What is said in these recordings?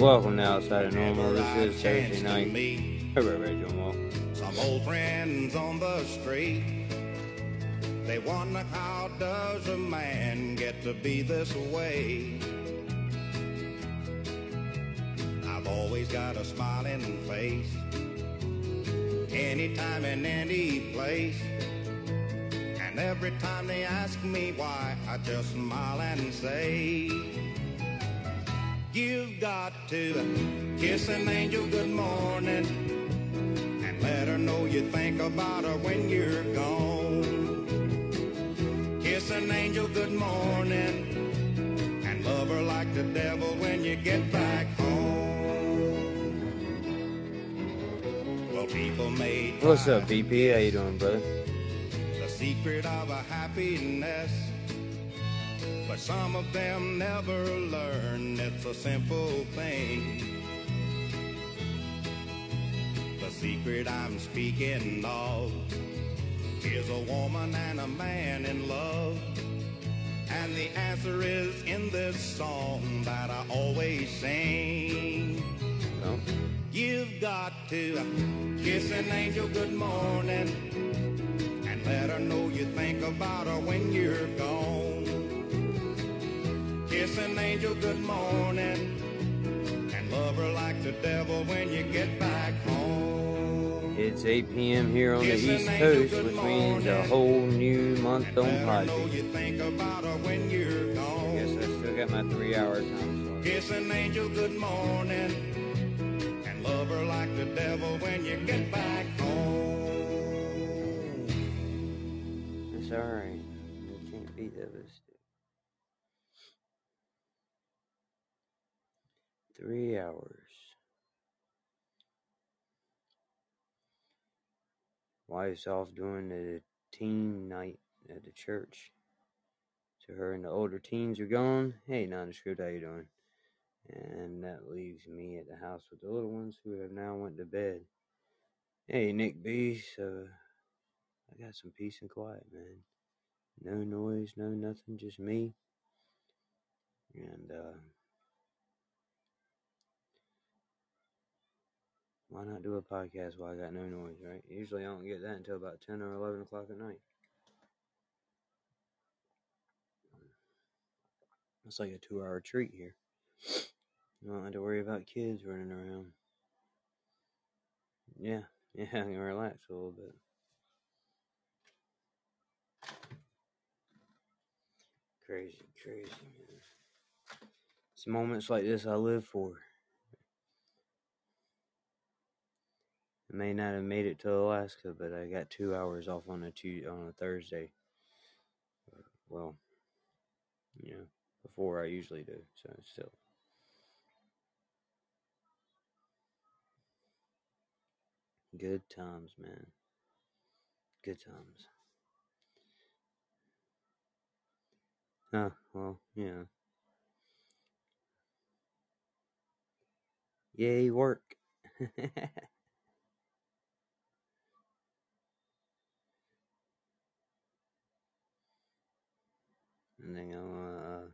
Welcome to Outside of Normal. This is Thursday night. Hey, Joe. Some old friends on the street, they wonder how does a man get to be this way. I've always got a smiling face, anytime and any place. And every time they ask me why, I just smile and say, you've got to kiss an angel good morning and let her know you think about her when you're gone. Kiss an angel good morning and love her like the devil when you get back home. Well, people may try. What's up, BP? How you doing, brother? The secret of a happiness, but some of them never learn it's a simple thing. The secret I'm speaking of is a woman and a man in love. And the answer is in this song that I always sing. No? You've got to kiss an angel good morning and let her know you think about her when you're gone. Kiss an angel good morning and love her like the devil when you get back home. It's 8 p.m. here on the East Coast, which means a whole new month on Podbean. I guess I still got my 3-hour time slot. Kiss an angel good morning and love her like the devil when you get back home. It's alright. You can't beat that with 3 hours. Wife's off doing the teen night at the church. So her and the older teens are gone. Hey, Nondescript, how you doing? And that leaves me at the house with the little ones who have now went to bed. Hey, Nick B. So I got some peace and quiet, man. No noise, no nothing, just me. And why not do a podcast while I got no noise, right? Usually I don't get that until about 10 or 11 o'clock at night. It's like a 2-hour treat here. You don't have to worry about kids running around. Yeah, I can relax a little bit. Crazy, man. It's moments like this I live for. I may not have made it to Alaska, but I got 2 hours off on a Thursday. Well, before I usually do, so still. Good times, man. Good times. Well, yeah. Yay, work. And then I'll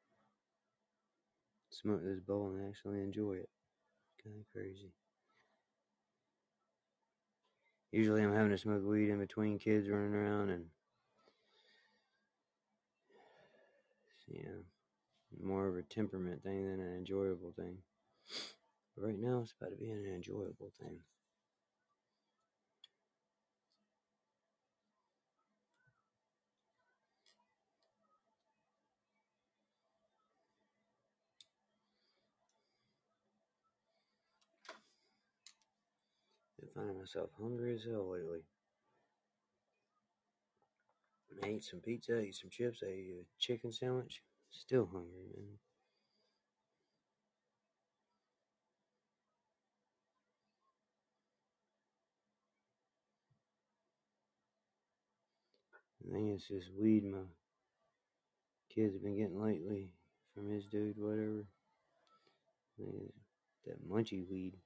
smoke this bowl and actually enjoy it. Kind of crazy. Usually I'm having to smoke weed in between kids running around and more of a temperament thing than an enjoyable thing. But right now it's about to be an enjoyable thing. Been finding myself hungry as hell lately. I ate some pizza, I ate some chips, I ate a chicken sandwich. Still hungry, man. I think it's just weed my kids have been getting lately from his dude, whatever. I think it's that munchy weed.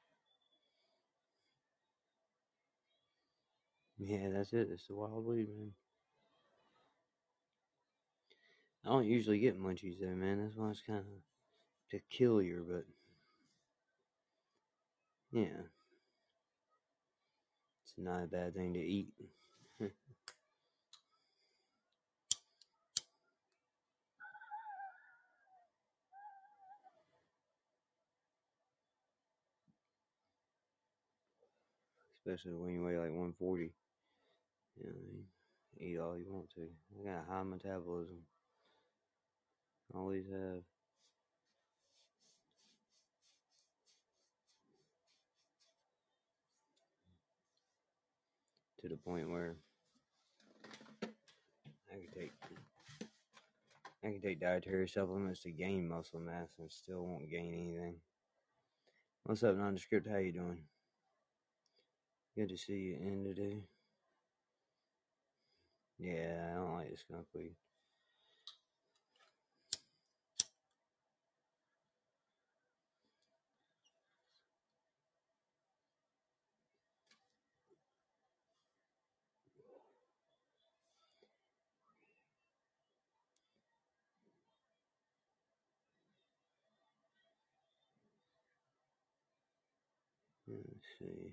Yeah, that's it. It's the wild weed, man. I don't usually get munchies though, man. That's why it's kind of peculiar, but Yeah. It's not a bad thing to eat. Especially when you weigh like 140. You know, you eat all you want to. I got a high metabolism. Always have. To the point where I can take dietary supplements to gain muscle mass and still won't gain anything. What's up, Nondescript? How you doing? Good to see you in today. Yeah, I don't like the skunk weed. Let's see.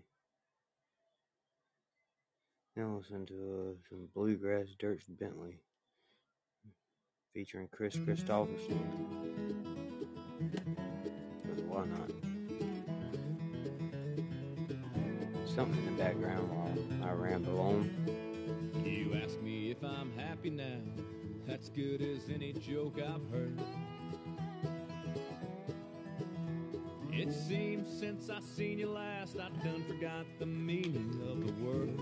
Now listen to some Bluegrass Dirk Bentley featuring Chris Christopherson. Why not? Something in the background while I ramble on. You ask me if I'm happy now. That's good as any joke I've heard. It seems since I seen you last, I done forgot the meaning of the word.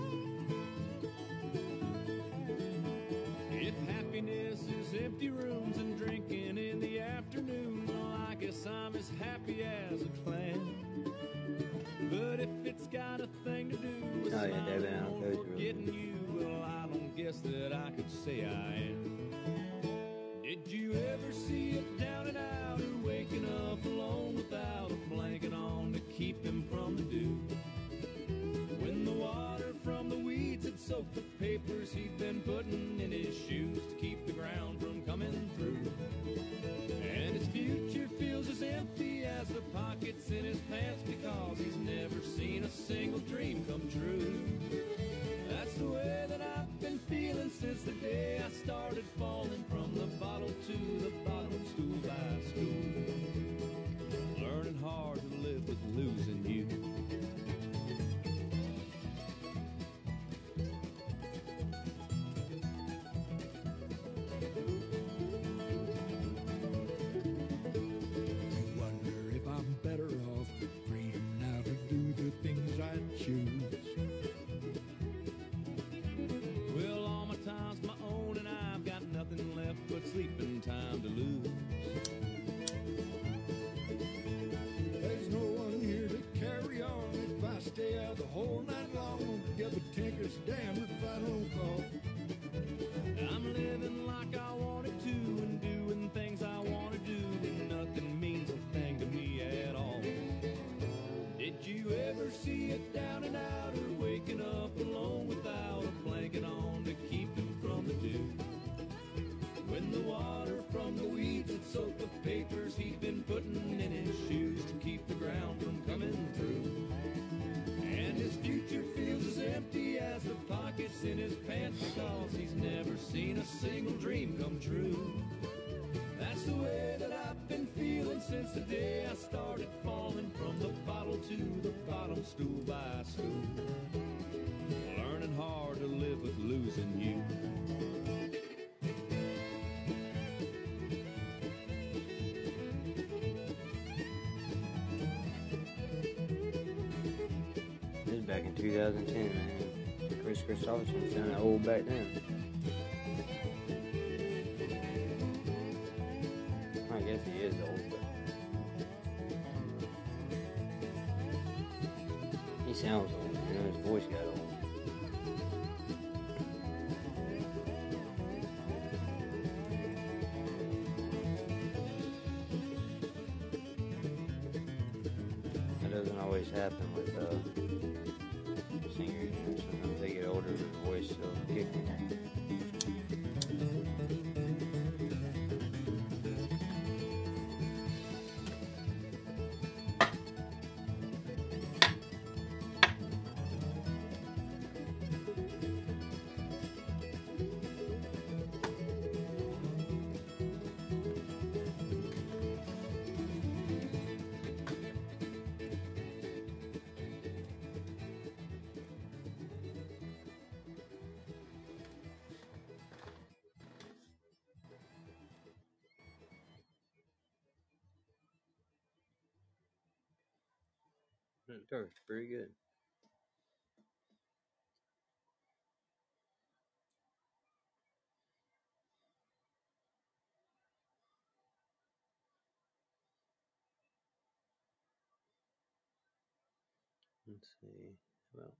If happiness is empty rooms and drinking in the afternoon, well, I guess I'm as happy as a clam. But if it's got a thing to do with forgetting you, well, I don't guess that I could say I am. Did you ever see it down and out, or waking up alone without a blanket on to keep him from the dew? When the water from the weeds had soaked the papers he'd been putting in his shoes to keep the ground from coming through. And his future feels as empty as the pockets in his pants because he's never seen a single dream come true. That's the way that I've been feeling since the day I started falling from the bottle to the bottom stool by school. Learning hard to live with losing you. Sleeping time to lose. There's no one here to carry on if I stay out the whole night long. Together tinkers, damn if I don't call. I'm living like I wanted to and doing things I want to do, and nothing means a thing to me at all. Did you ever see it down and out, or waking up alone without a blanket on to keep him from the dew? When the water from the weeds had soaked the papers he'd been putting in his shoes to keep the ground from coming through. And his future feels as empty as the pockets in his pants because he's never seen a single dream come true. That's the way that I've been feeling since the day I started falling from the bottle to the bottom stool by school. Learning hard to live with losing you. Back in 2010, man. Chris Christopherson sounded old back then. I guess he is old, but he sounds old. You know, his voice got old. That doesn't always happen with singers. Sometimes they get older, their voice still kicking. Turk's pretty good. Let's see. Well,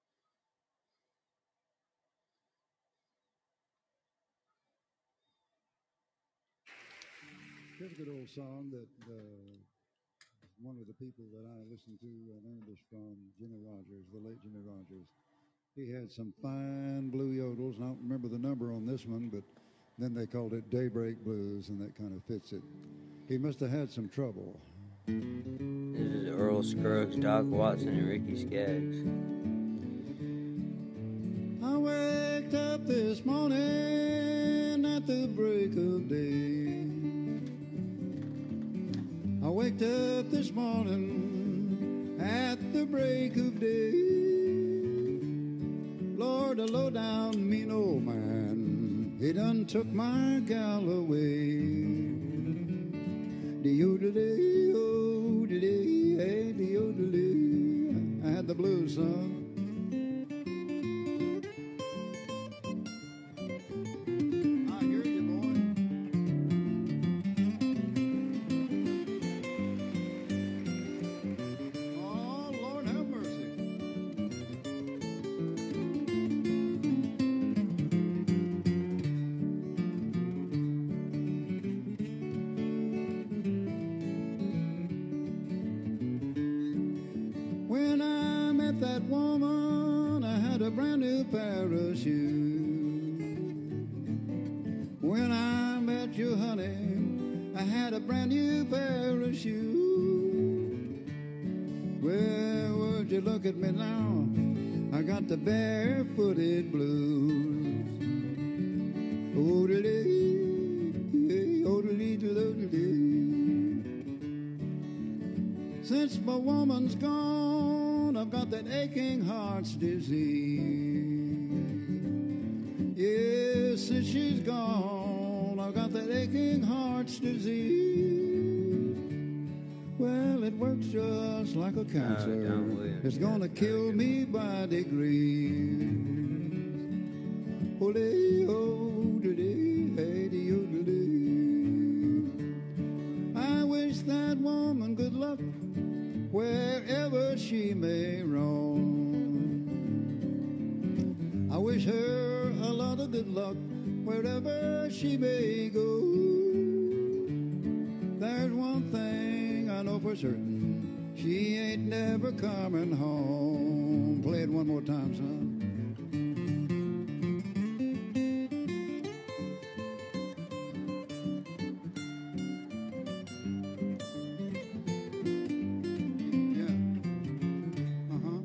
here's a good old song that one of the people that I listened to learned this from, Jimmy Rogers, the late Jimmy Rogers. He had some fine blue yodels, and I don't remember the number on this one, but then they called it Daybreak Blues, and that kind of fits it. He must have had some trouble. This is Earl Scruggs, Doc Watson, and Ricky Skaggs. I waked up this morning at the break of day. I waked up this morning at the break of day. Lord, a low-down mean old man, he done took my gal away. De-o-de-day, oh-de-day, hey, de-o-de-day. I had the blues, son. I hear you, boy. Oh, Lord have mercy. When I met that woman, I had a brand new pair of shoes. When I met you, honey, I had a brand new pair of shoes. Well, would you look at me now? I got the barefooted blues. Oh-de-dee, oh-de-dee-de-dee. Since my woman's gone, I've got that aching heart's disease. Yes, since she's gone, I've got that aching heart's disease. Well, it works just like a cancer. Don Williams, It's gonna yes, kill me by degrees. Ole, oh, de-dee, hey, de-o-de-dee. I wish that woman good luck wherever she may roam. I wish her a lot of good luck wherever she may go. There's one thing I know for certain, she ain't never coming home. Play it one more time, son. Yeah. Uh-huh.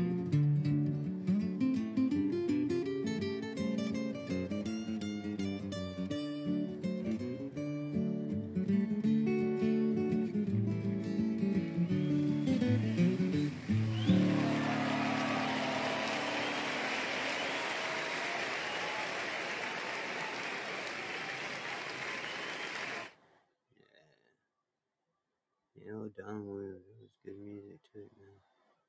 You know, Don Williams, it was good music too, man.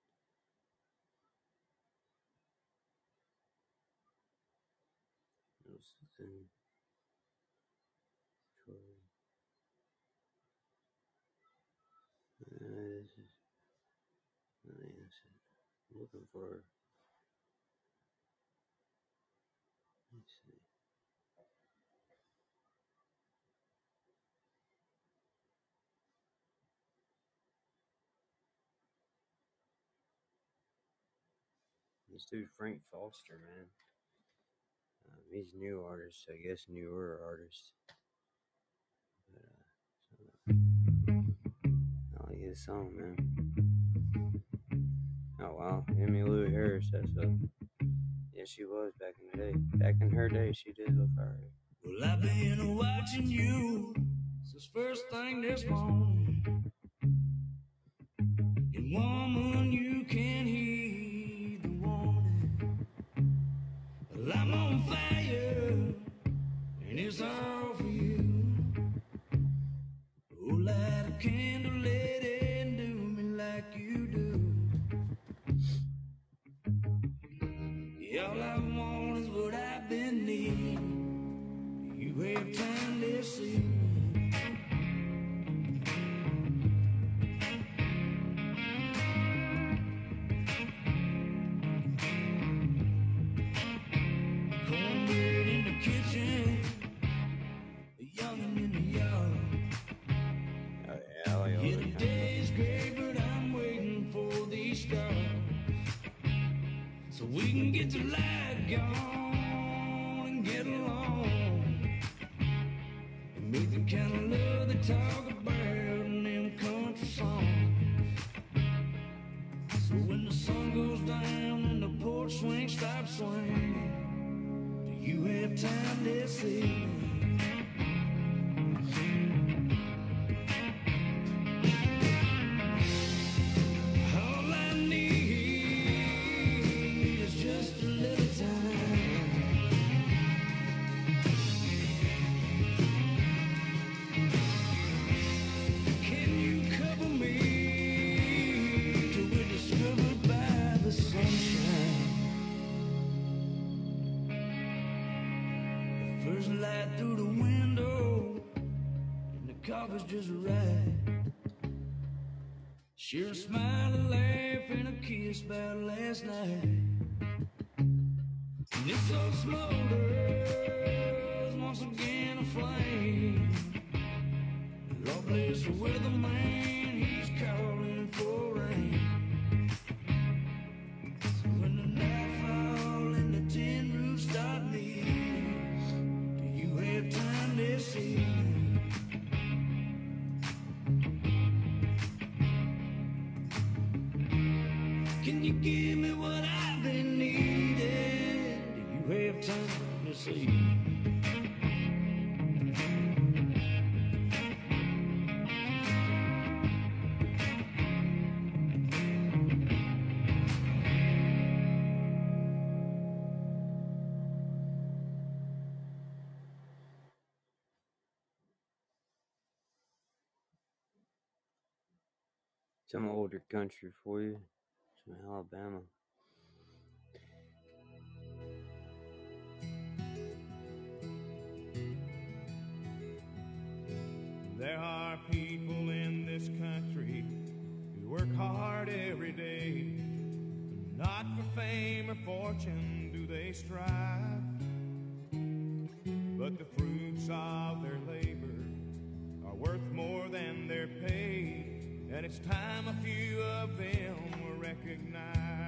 It was something for this is let me see. I'm looking for let's see. This dude Frank Foster, man. He's a new artist, I guess newer artist. But I like his song, man. Oh wow, Emmylou Harris, that's a yeah, she was back in the day. Back in her day, she did look alright. Well, I've been watching you since first thing this morning. And woman, you can heed the warning. Well, I'm on fire, and it's all for you. Oh, light a candle, lady, and do me like you do. what I've been needing. You have time to see. Cornbread in the kitchen, a youngin' in the yard. Yeah, the day's gray, but I'm waiting for these stars, so we can get the light gone and get along and meet the kind of love they talk about in them country songs. So when the sun goes down and the porch swing stops swinging, do you have time to see? All I need is just a little time. Can you cover me till we're discovered by the sunshine? The first light through the window and the cover's just right. Share a smile, a laugh, and a kiss about last night. And this old smolders once again aflame. Lord bless the weatherman, he's calling for rain. So when the night fall and the tin roofs start leaking, do you have time to see? Can you give me what I've been needing? Do you have time to see? Some older country for you. Some Alabama. There are people in this country who work hard every day. Not for fame or fortune do they strive, but the fruits of their labor are worth more than their pay. And it's time a few of them were recognized.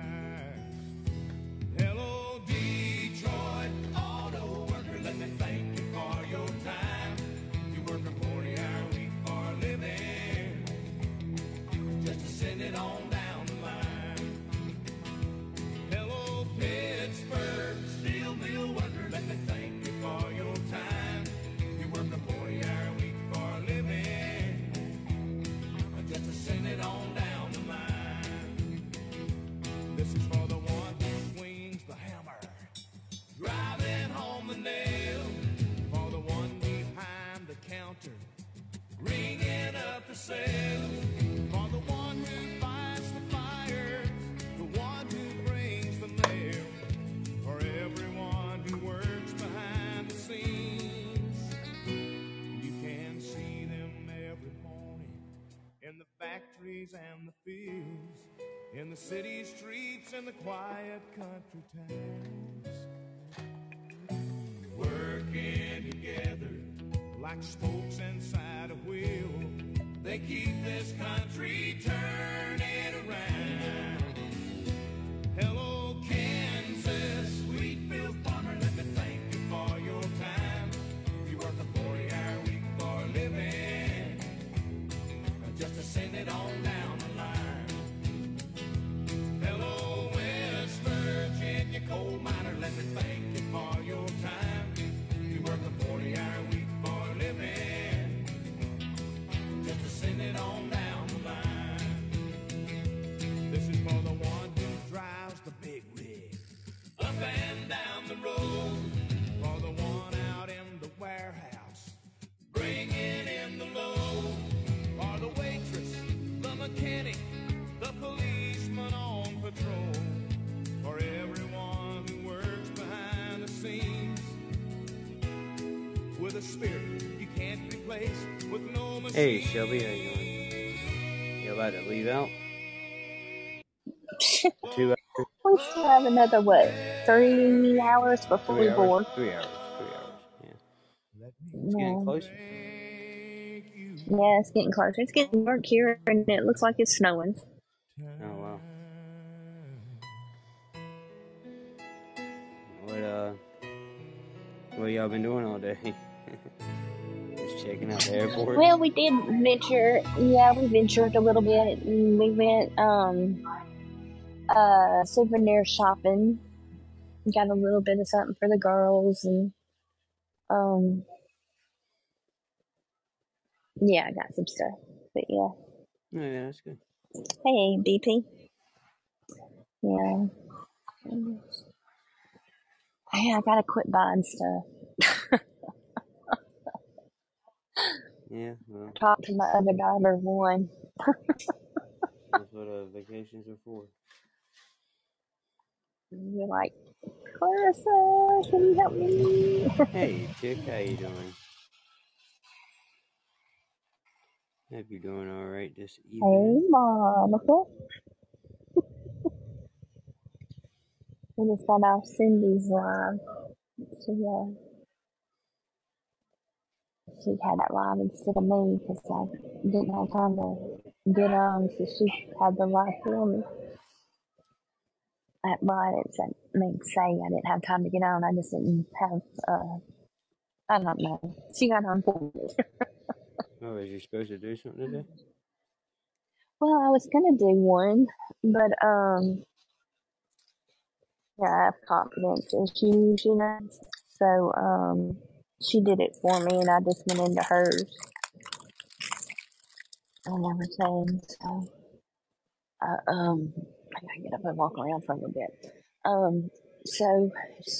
Hello, Detroit auto worker, let me thank you for your time. You work a 40-hour week for a living, just to send it on down the line. Hello, Pittsburgh steel mill worker, let me thank you for your time. You work a 40-hour week for a living, just to send it on down the line. This is for the one who swings the hammer, driving home the nail. For the one behind the counter, ringing up the sales. For the one who fights the fires, the one who brings the mail. For everyone who works behind the scenes, you can see them every morning in the factories and the fields, in the city streets and the quiet country towns, working together like spokes inside a wheel. They keep this country turning around. Hello, Kansas, Wheatfield farmer, let me thank you for your time. You work a 40-hour week for a living, just to send it on down the line. Hello, West Virginia coal miner, let me thank you for your time. You work a 40-hour week for a living, just to send it on down the line. a spirit you can't replace with no machine. Hey, Shelby, how you doing? You about to leave out? 2 hours? We still have another, 3 hours before 3 we hours? board. 3 hours. 3 hours. Yeah. It's getting Yeah. closer. Yeah, it's getting closer. It's getting dark here, and it looks like it's snowing. Oh, wow. What y'all been doing all day? Just checking out the airport? Well, we did venture. Yeah, we ventured a little bit. We went souvenir shopping. Got a little bit of something for the girls, and yeah, I got some stuff. But yeah. Oh, yeah, that's good. Hey, BP. Yeah. Hey, I gotta quit buying stuff. Yeah, well, Talk to my other daughter, one. that's what vacations are for. You're like, Clarissa, can you help me? Hey, chick, how you doing? Hope you're doing all right this evening. Hey, Monica. We just got off Cindy's live. So, she had that live instead of me because I didn't have time to get on, so she had the live for me. Well, I didn't say I didn't have time to get on. I just didn't have, I don't know. She got on for me. Oh, was you supposed to do something today? Well, I was gonna do one, but yeah, I have confidence issues, you know. So she did it for me, and I just went into hers and everything. So I gotta get up and walk around for a little bit. So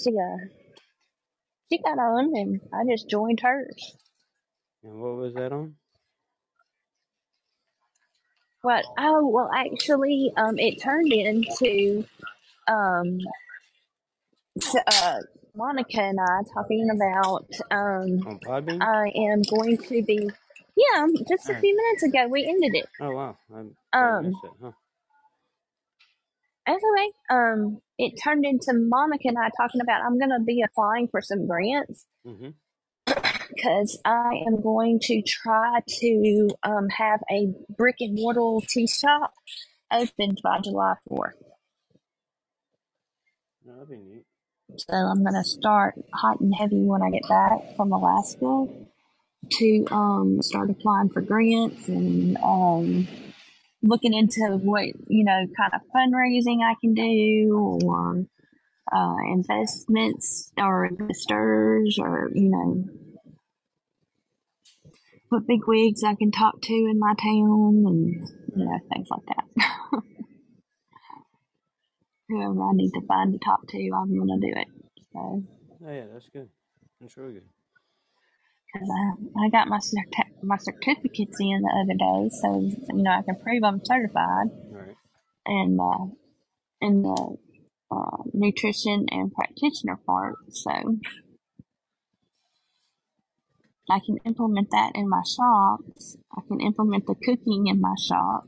she got on, and I just joined hers. And what was that on? What? Oh, well, actually, it turned into Monica and I talking about On Podbean? I am going to be. Yeah, just a few minutes ago we ended it. Oh, wow. I missed it, huh? Anyway, it turned into Monica and I talking about I'm gonna be applying for some grants because I am going to try to have a brick and mortar tea shop opened by July 4th. No, that'd be neat. So I'm gonna start hot and heavy when I get back from Alaska to start applying for grants and looking into what kind of fundraising I can do, or investments or investors, or what big wigs I can talk to in my town, and things like that. Whoever I need to find to talk to, I'm gonna do it. So. Oh, yeah, that's good. That's really good. Because I got my certificates in the other day, so I can prove I'm certified. Right. And in the nutrition and practitioner part, so I can implement that in my shops. I can implement the cooking in my shop.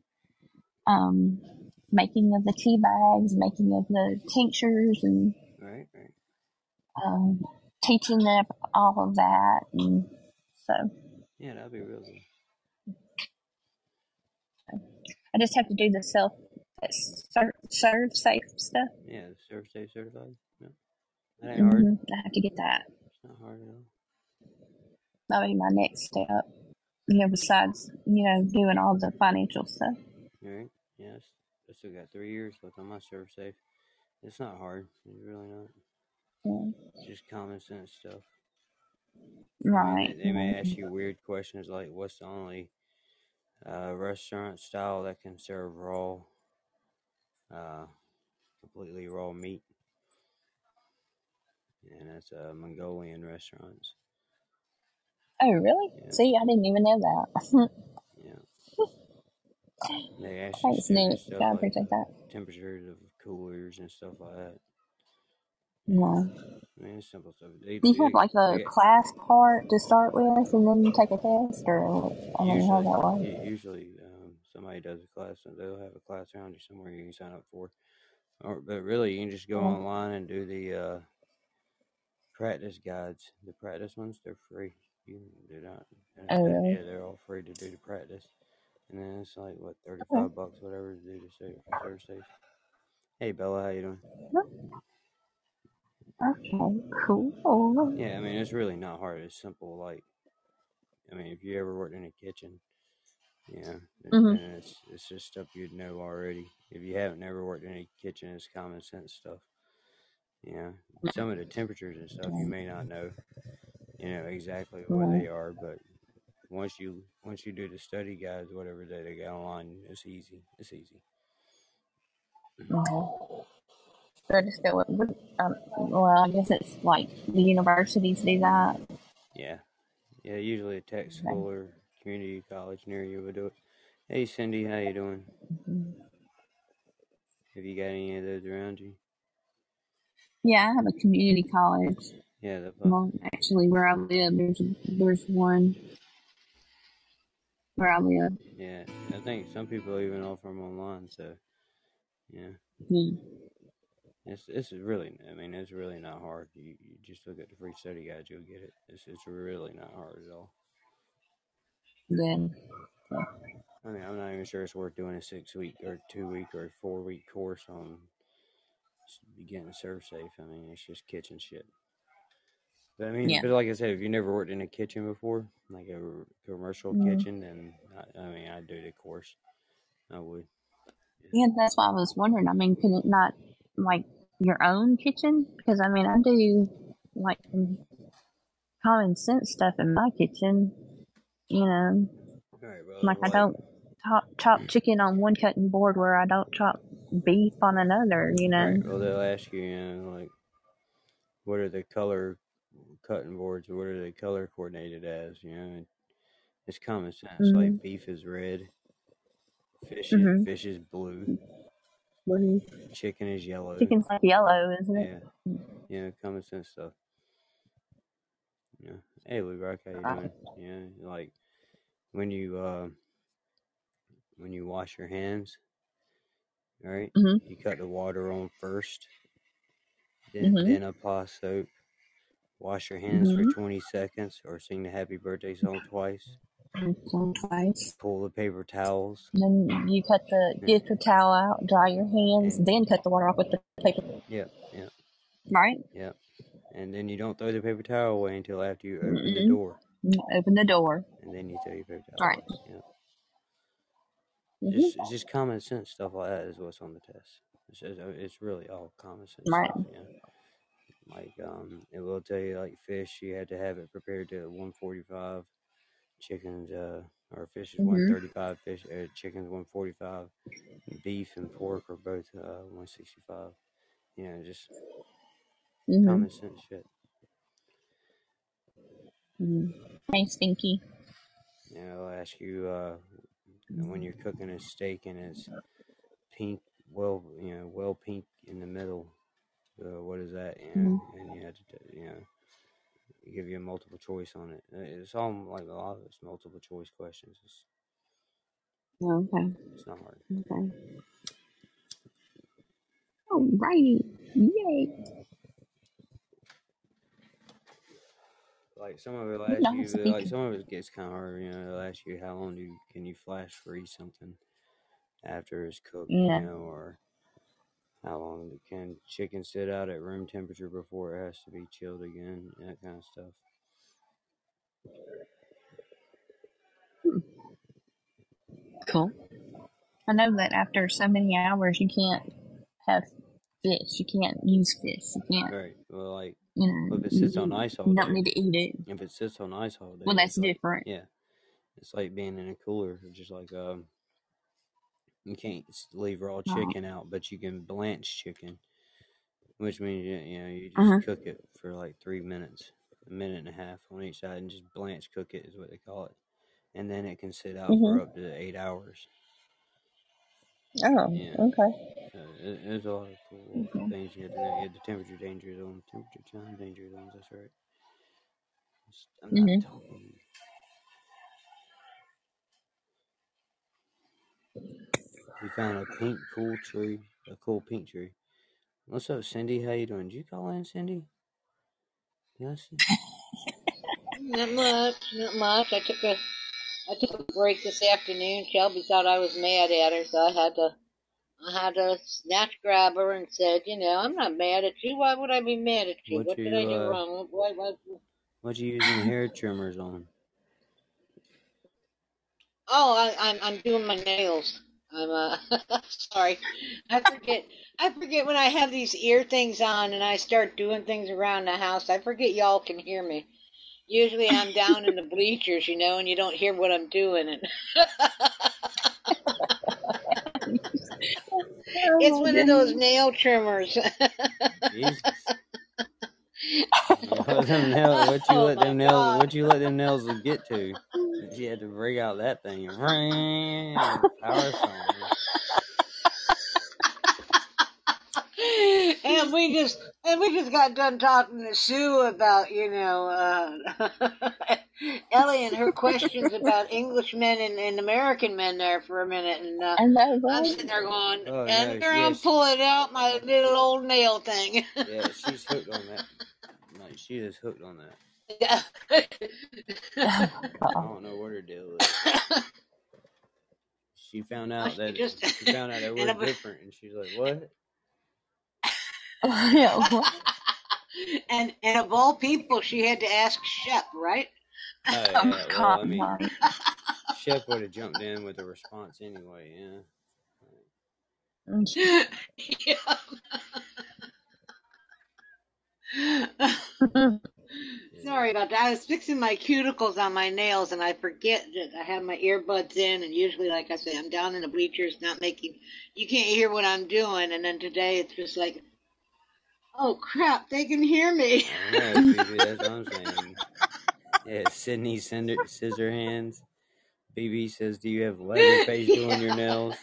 Making of the tea bags, making of the tinctures, and right. teaching them all of that, and so yeah, that'd be real good. I just have to do the serve safe stuff. Yeah, the serve safe certified. No, that ain't hard. I have to get that. It's not hard at all. That'll be my next step. Besides doing all the financial stuff. Right. Yes. I still got 3 years left on my serve safe. It's not hard. It's really not. Yeah. It's just common sense stuff. Right. I mean, they may ask you weird questions like, what's the only restaurant style that can serve raw, completely raw meat? And that's Mongolian restaurants. Oh, really? Yeah. See, I didn't even know that. Yeah. They ask you Thanks, Nick. stuff I like appreciate that. temperatures of coolers and stuff like that. No. I mean, it's simple stuff. Do you have like a class part to start with, and then you take a test, or I mean, how that works? Usually, somebody does a class, and they'll have a class around you somewhere you can sign up for. But really, you can just go online and do the practice guides. The practice ones, they're free. You can do that. Oh, really? Yeah, they're all free to do the practice. And then it's like, what, $35, whatever, to do the serve safe. Hey, Bella, how you doing? Okay, cool. Yeah, I mean, it's really not hard. It's simple. Like, I mean, if you ever worked in a kitchen, then it's just stuff you'd know already. If you haven't never worked in a kitchen, it's common sense stuff. Some of the temperatures and stuff you may not know, exactly what they are, but once you do the study guides, whatever they got online, it's easy. It's easy. So I just go with, well, I guess it's like the universities do that. Yeah, usually a tech school or community college near you would do it. Hey, Cindy, how you doing? Have you got any of those around you? Yeah, I have a community college. Yeah, well, actually, where I live, there's one where I live. Yeah, I think some people even offer them online. So, yeah. It's really, I mean, it's really not hard. You just look at the free study guide, you'll get it. It's really not hard at all. Then, I mean, I'm not even sure it's worth doing a 6-week or 2-week or 4-week course on getting serve safe. I mean, it's just kitchen shit. But I mean, but like I said, if you never worked in a kitchen before, like a commercial kitchen, then I'd do the course. I would. Yeah, that's why I was wondering. I mean, could it not like your own kitchen? Because I mean, I do like some common sense stuff in my kitchen. Like I don't chop chicken on one cutting board where I don't chop beef on another. Right. Well, they'll ask you, like, what are the color cutting boards, or what are they color coordinated as? It's common sense. Like beef is red, fish is blue, chicken is yellow. Chicken's like yellow, isn't it? Yeah, common sense stuff. Yeah. Hey, Lou Rock, how you doing? Like when you wash your hands, right? You cut the water on first, then apply soap. Wash your hands for 20 seconds, or sing the happy birthday song twice. Pull the paper towels. Then you get the towel out, dry your hands, then cut the water off with the paper. Yep. Right? Yep. And then you don't throw the paper towel away until after you open the door. Open the door. And then you throw your paper towel away. Yep. It's just common sense stuff like that is what's on the test. It's really all common sense stuff. Like, it will tell you, like, fish, you had to have it prepared to 145. Chickens, or fish is 135. Chickens 145. Beef and pork are both 165. Just common sense shit. Hey, Stinky. I'll ask you when you're cooking a steak and it's pink, well pink in the middle. What is that? And you have to, give you a multiple choice on it. It's all like a lot of it's multiple choice questions. Okay. It's not hard. Okay. Alrighty. Yay. Like some of it will ask you, like some of it gets kind of hard. They'll ask you how long can you flash freeze something after it's cooked, or how long can chicken sit out at room temperature before it has to be chilled again, that kind of stuff. Cool. I know that after so many hours, you can't have fish. You can't use fish. You can't. Right. Well, like, if it sits on ice all day. You don't need to eat it. If it sits on ice all day. Well, that's different. Yeah. It's like being in a cooler. Just like, you can't leave raw chicken out, but you can blanch chicken, which means, you just cook it for like 3 minutes, a minute and a half on each side, and just blanch cook it is what they call it. And then it can sit out for up to 8 hours. Oh, Yeah. okay. There's a lot of cool things you had to know. You had the temperature danger zone, temperature time danger zones. That's right. I'm not talking. We found a cool tree, a cool pink tree. What's up, Cindy? How you doing? Did you call in, Cindy? Yes. Not much. I took a break this afternoon. Shelby thought I was mad at her, so I had to snatch grab her and said, I'm not mad at you. Why would I be mad at you? What did I do wrong? What you using hair trimmers on? Oh, I'm doing my nails. I'm sorry. I forget when I have these ear things on and I start doing things around the house. I forget y'all can hear me. Usually I'm down in the bleachers, and you don't hear what I'm doing. And it's one of those nail trimmers. Jesus. What you let them nails get to? You had to bring out that thing. Power song. And we just got done talking to Sue about, Ellie and her questions about Englishmen and American men there for a minute, and I'm sitting there going, here I'm pulling out my little old nail thing. Yeah, she's hooked on that. Like, she is hooked on that. Yeah. I don't know what her deal is. She found out that we're different, and she's like, "What?" Yeah, what? And of all people, she had to ask Shep, right? Shep would have jumped in with a response anyway. Yeah. Sorry about that. I was fixing my cuticles on my nails, and I forget that I have my earbuds in, and usually, like I say, I'm down in the bleachers, you can't hear what I'm doing, and then today it's just like, oh crap, they can hear me. Yeah, BB, that's what I'm saying. Yeah, Sydney scissor hands. BB says, "Do you have Leatherface doing your nails?"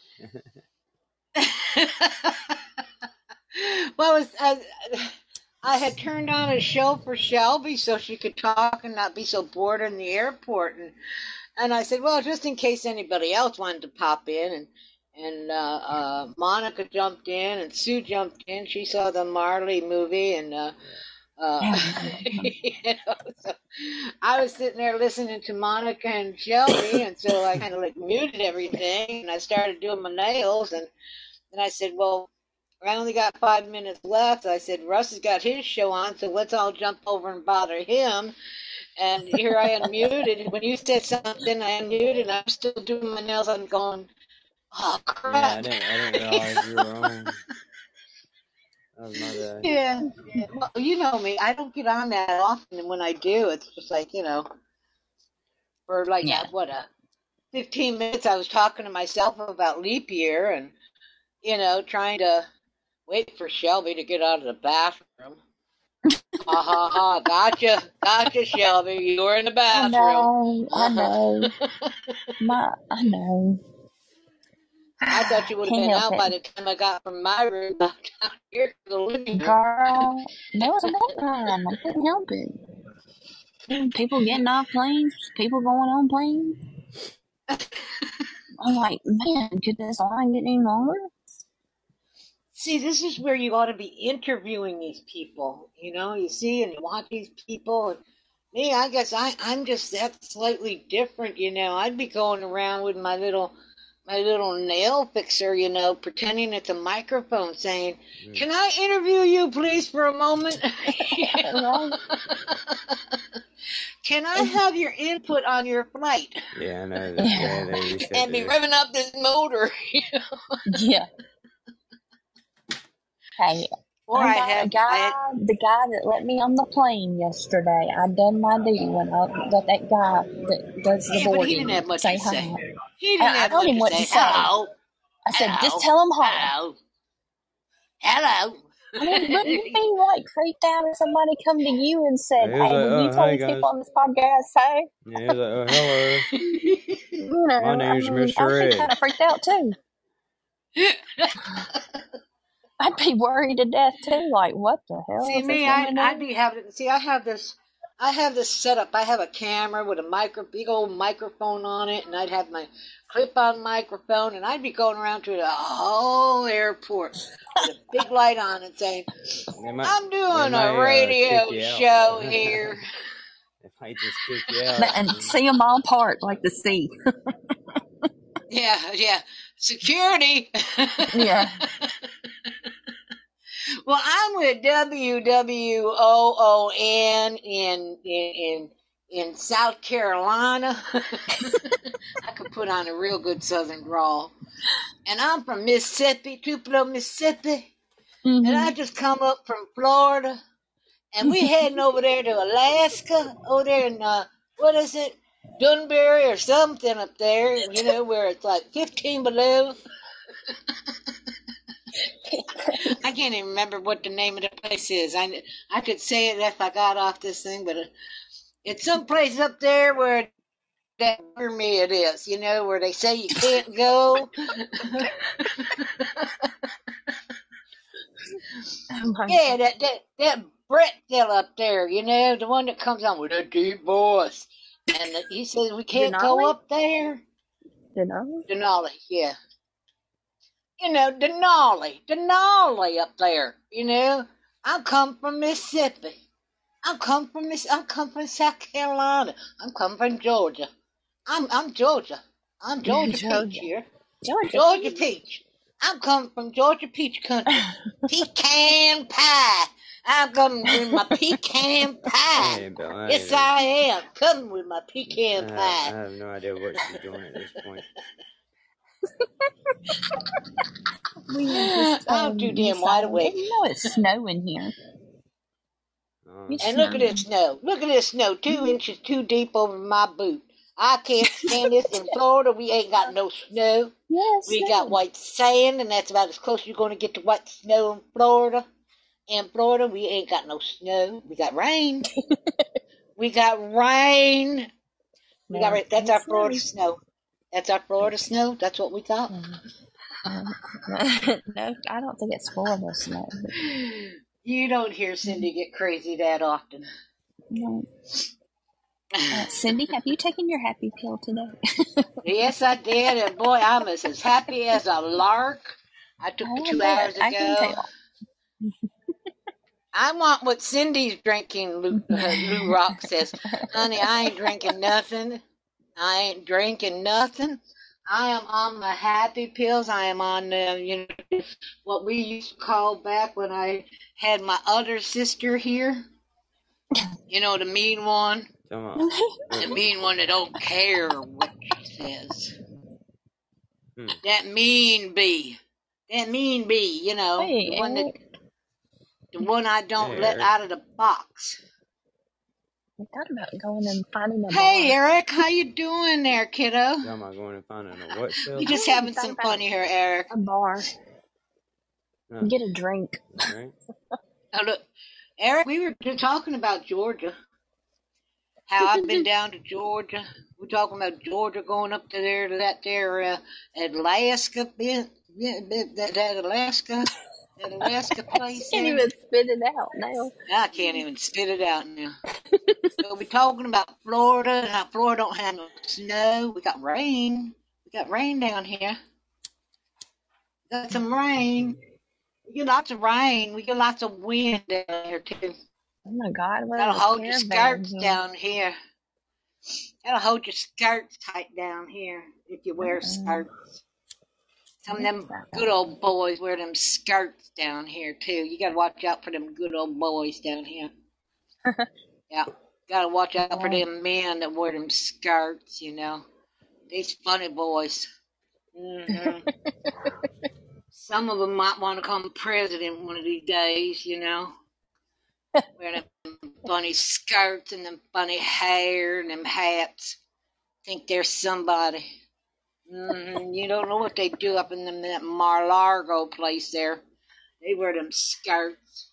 Well, I had turned on a show for Shelby so she could talk and not be so bored in the airport, and I said, well, just in case anybody else wanted to pop in, and Monica jumped in and Sue jumped in. She saw the Marley movie, and so I was sitting there listening to Monica and Shelby, and so I kind of muted everything, and I started doing my nails, and I said, well, I only got 5 minutes left. I said, Russ has got his show on, so let's all jump over and bother him. And here I unmuted. When you said something, I unmuted, and I'm still doing my nails. I'm going, oh, crap. Yeah, I didn't realize you were on. That was my bad. Yeah. Well, you know me. I don't get on that often, and when I do, it's just like, for 15 minutes I was talking to myself about leap year and, trying to wait for Shelby to get out of the bathroom. Gotcha, Shelby. You were in the bathroom. I know. I know. I thought you would have been out by the time I got from my room down here to the living room. Girl, there was a bad time. I couldn't help it. People getting off planes, people going on planes. I'm like, man, could this line get any longer? See, this is where you ought to be interviewing these people. You see and you watch these people. And me, I guess I'm just that slightly different. I'd be going around with my little nail fixer, pretending it's a microphone, saying, "Can I interview you, please, for a moment? Can I have your input on your flight?" Yeah, I know. That. And be revving up this motor. Yeah. Hey, the guy that let me on the plane yesterday, I done my duty when I let that guy that does the boarding but he didn't have much say to hi. say. He didn't have told him what to say. Hello. I said, just tell him hi. Hello. I mean, wouldn't you be freaked out if somebody come to you and said, "Hey, will you tell these people on this podcast, hey?" Yeah, he was like, "Oh, hello. My name's Mr. I'd Ed." be kind of freaked out too. I'd be worried to death too. Like, what the hell See is me, this woman I'd doing? be having. See, I have this setup. I have a camera with a big old microphone on it, and I'd have my clip-on microphone, and I'd be going around to the whole airport with a big light on and saying, "I'm doing a radio show here." They might just kick you out. And see them all part like the sea. Yeah. Security. Yeah. Well, I'm with WWOON in South Carolina. I could put on a real good Southern drawl. And I'm from Mississippi, Tupelo, Mississippi. Mm-hmm. And I just come up from Florida. And we heading over there to Alaska, over there in, what is it? Dunbury or something up there, you know, where it's like 15 below. I can't even remember what the name of the place is. I could say it if I got off this thing, but it's some place up there where that mermaid is, you know, where they say you can't go. Yeah, that Brett still up there, you know, the one that comes on with a deep voice. And he says we can't go up there. Denali, yeah. You know, Denali up there, you know. I come from Mississippi. I come from South Carolina. I'm coming from Georgia. I'm Georgia. I'm Georgia Peach here. Georgia Peach. I'm coming from Georgia Peach country. Pecan pie. I'm coming with my pecan pie. Hey, Bill, Yes, I am coming with my pecan pie. I have no idea what she's doing at this point. I'm too damn wide awake. You know it's snowing here. And look at this snow. Look at this snow. 2 inches too deep over my boot. I can't stand this. In Florida, we ain't got no snow. Yes, we got white sand, and that's about as close as you're going to get to white snow in Florida. In Florida, we ain't got no snow. We got rain. We got rain. We got rain. That's our Florida snow. That's our Florida snow. That's what we got. No, I don't think it's Florida snow. You don't hear Cindy get crazy that often. No. Cindy, have you taken your happy pill today? Yes, I did. And boy, I'm as happy as a lark. I took it 2 hours ago. I can tell. I want what Cindy's drinking, Lou Rock says. Honey, I ain't drinking nothing. I ain't drinking nothing. I am on the happy pills. I am on, you know, what we used to call back when I had my other sister here. You know, the mean one. The mean one that don't care what she says. That mean bee. That mean bee, you know. Hey, the one I don't let out of the box. I thought about going and finding a bar. Hey, Eric, how you doing there, kiddo? Am I going and finding a what show? You just having some fun here, Eric. A bar. No. Get a drink. Right? Oh, look, Eric, we were talking about Georgia. How I've been down to Georgia. We're talking about Georgia going up to there to that there Alaska bit. Yeah, that Alaska place. I can't even spit it out now. I can't even spit it out now. So we're talking about Florida, and how Florida don't have no snow. We got rain. We got rain down here. We got some rain. We get lots of rain. We get lots of wind down here, too. Oh, my God. That'll hold your skirts down here. That'll hold your skirts tight down here if you wear skirts. Some of them good old boys wear them skirts down here, too. You got to watch out for them good old boys down here. Yeah. Got to watch out for them men that wear them skirts, you know. These funny boys. Mm-hmm. Some of them might want to become president one of these days, you know. Wearing them funny skirts and them funny hair and them hats. Think they're somebody. You don't know what they do up in that Mar-a-Lago place there. They wear them skirts.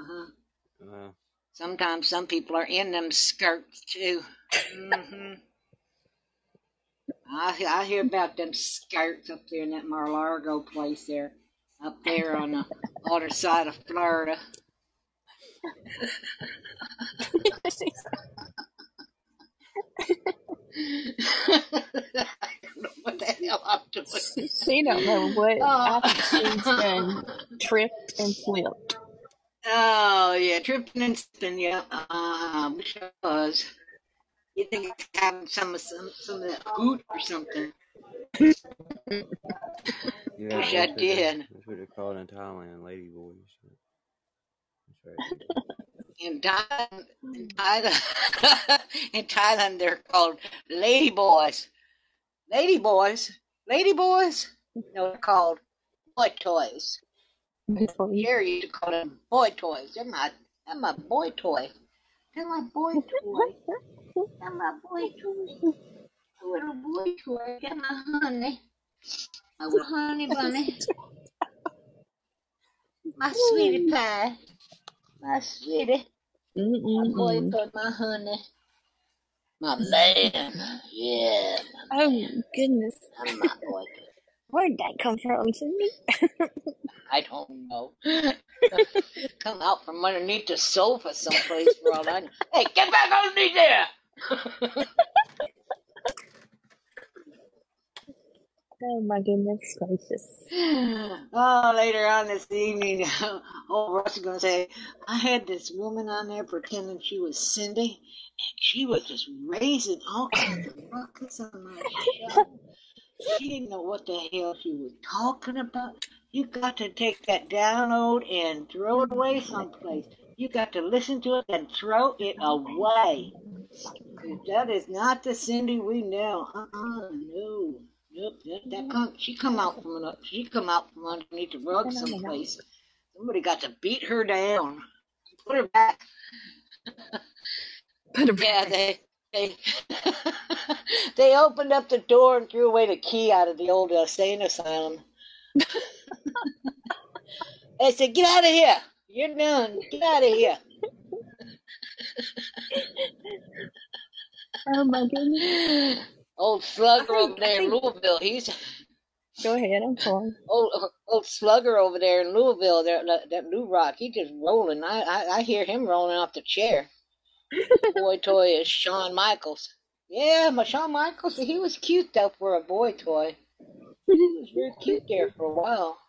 Sometimes some people are in them skirts too. I hear about them skirts up there in that Mar-a-Lago place there, up there on the other side of Florida. I don't know what the hell I'm doing. She don't know what. I think she's done tripped and flipped. Oh, yeah, tripping and slipping, yeah. Wish I was. You think it's having some of that hoot or something? Yeah, Wish I did. That's what they're called in Thailand, lady boys. That's right. In Thailand, they're called lady boys. Lady boys? Lady boys? No, they're called boy toys. Jerry used to call them boy toys. They're my boy toy. They're my boy toy. They're my boy toy. A little boy toy. Got my honey. My little honey bunny. My sweetie pie. My sweetie. My boy toy, my honey. My man. Yeah. Oh, goodness. I'm my boy toy. Where'd that come from, Cindy? I don't know. Come out from underneath the sofa someplace for all I know. Hey, get back underneath there! Oh, my goodness gracious. Oh, later on this evening, old Russ is going to say, I had this woman on there pretending she was Cindy, and she was just raising all kinds of ruckus on my show. She didn't know what the hell she was talking about. You got to take that download and throw it away someplace. You got to listen to it and throw it away. That is not the Cindy we know. No. Nope. She come out from underneath the rug someplace. Somebody got to beat her down. Put her back. Yeah, they opened up the door and threw away the key out of the old insane asylum. They said, "Get out of here! You're done. Get out of here." Oh my goodness. Old Slugger over there in Louisville. Go ahead, I'm sorry. Old Slugger over there in Louisville, that New Rock, he just rolling. I hear him rolling off the chair. Boy toy is Shawn Michaels. Yeah, but Shawn Michaels, he was cute though for a boy toy. He was very cute there for a while.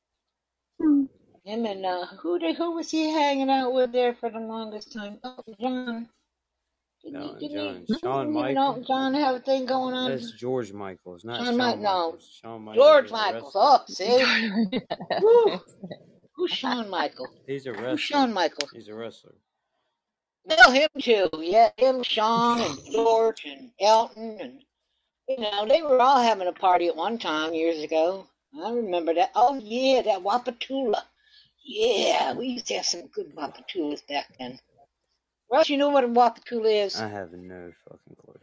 Him and who was he hanging out with there for the longest time? Oh, John. John. Shawn Michaels. John have a thing going on. That's George Michaels, not Shawn Michaels. No, Shawn Michaels. George Michaels. Oh, see. Who's Shawn Michaels? He's a wrestler. Who's Shawn Michaels? He's a wrestler. Well, him too. Yeah, him, Shawn, and George, and Elton, and they were all having a party at one time years ago. I remember that. Oh yeah, that Wapatula. Yeah, we used to have some good Wapatulas back then. Russ, you know what a Wapatula is? I have no fucking clue.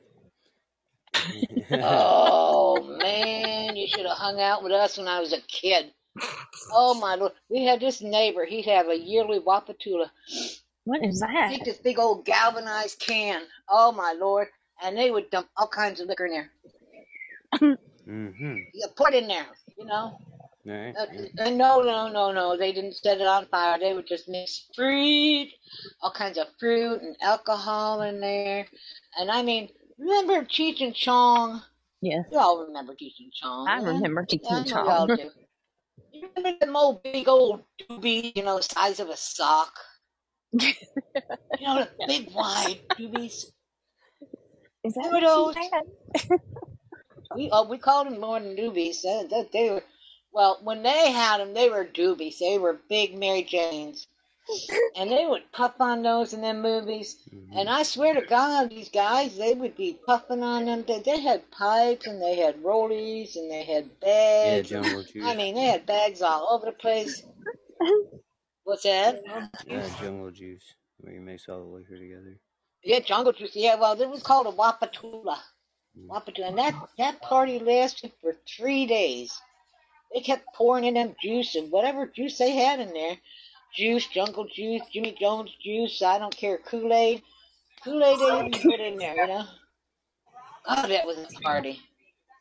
Oh man, you should have hung out with us when I was a kid. Oh my Lord, we had this neighbor. He'd have a yearly Wapatula. What is that? Take this big old galvanized can. Oh my Lord, and they would dump all kinds of liquor in there. You put in there, Right. No, they didn't set it on fire. They would just mix all kinds of fruit and alcohol in there. And I mean, remember Cheech and Chong? Yes. You all remember Cheech and Chong. I remember Cheech and Chong. Y'all do. You remember them old big old doobies, the size of a sock? The big wide doobies. Is that what those? We called them more than doobies. They were. Well, when they had them, they were doobies. They were big Mary Janes. And they would puff on those in them movies. And I swear to God, these guys, they would be puffing on them. They had pipes, and they had rollies, and they had bags. Yeah, Jungle Juice. I mean, they had bags all over the place. What's that? Yeah, Jungle Juice, where you mix all the liquor together. Yeah, Jungle Juice. Yeah, well, it was called a Wapatula. And that party lasted for 3 days. They kept pouring in them juice and whatever juice they had in there. Juice, Jungle Juice, Jimmy Jones juice, I don't care, Kool-Aid. Kool-Aid they even put in there, God, that was a party.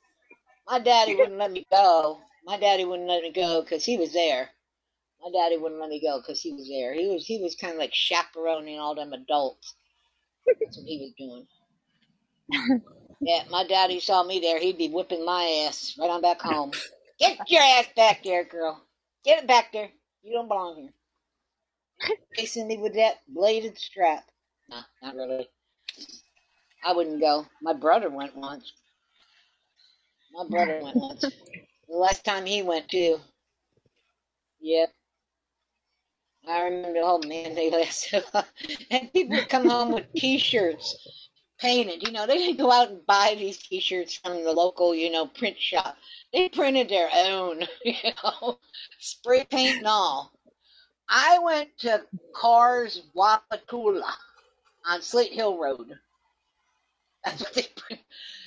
My daddy wouldn't let me go. My daddy wouldn't let me go because he was there. My daddy wouldn't let me go because he was there. He was kind of like chaperoning all them adults. That's what he was doing. Yeah, my daddy saw me there, he'd be whipping my ass right on back home. Get your ass back there, girl. Get it back there. You don't belong here. Chasing me with that bladed strap. No, not really. I wouldn't go. My brother went once. The last time he went, too. Yep. I remember, oh man, they lasted. And people would come home with T-shirts painted. You know, they didn't go out and buy these T-shirts from the local, print shop. They printed their own, spray paint and all. I went to Cars Wapatula on Slate Hill Road. That's what they printed.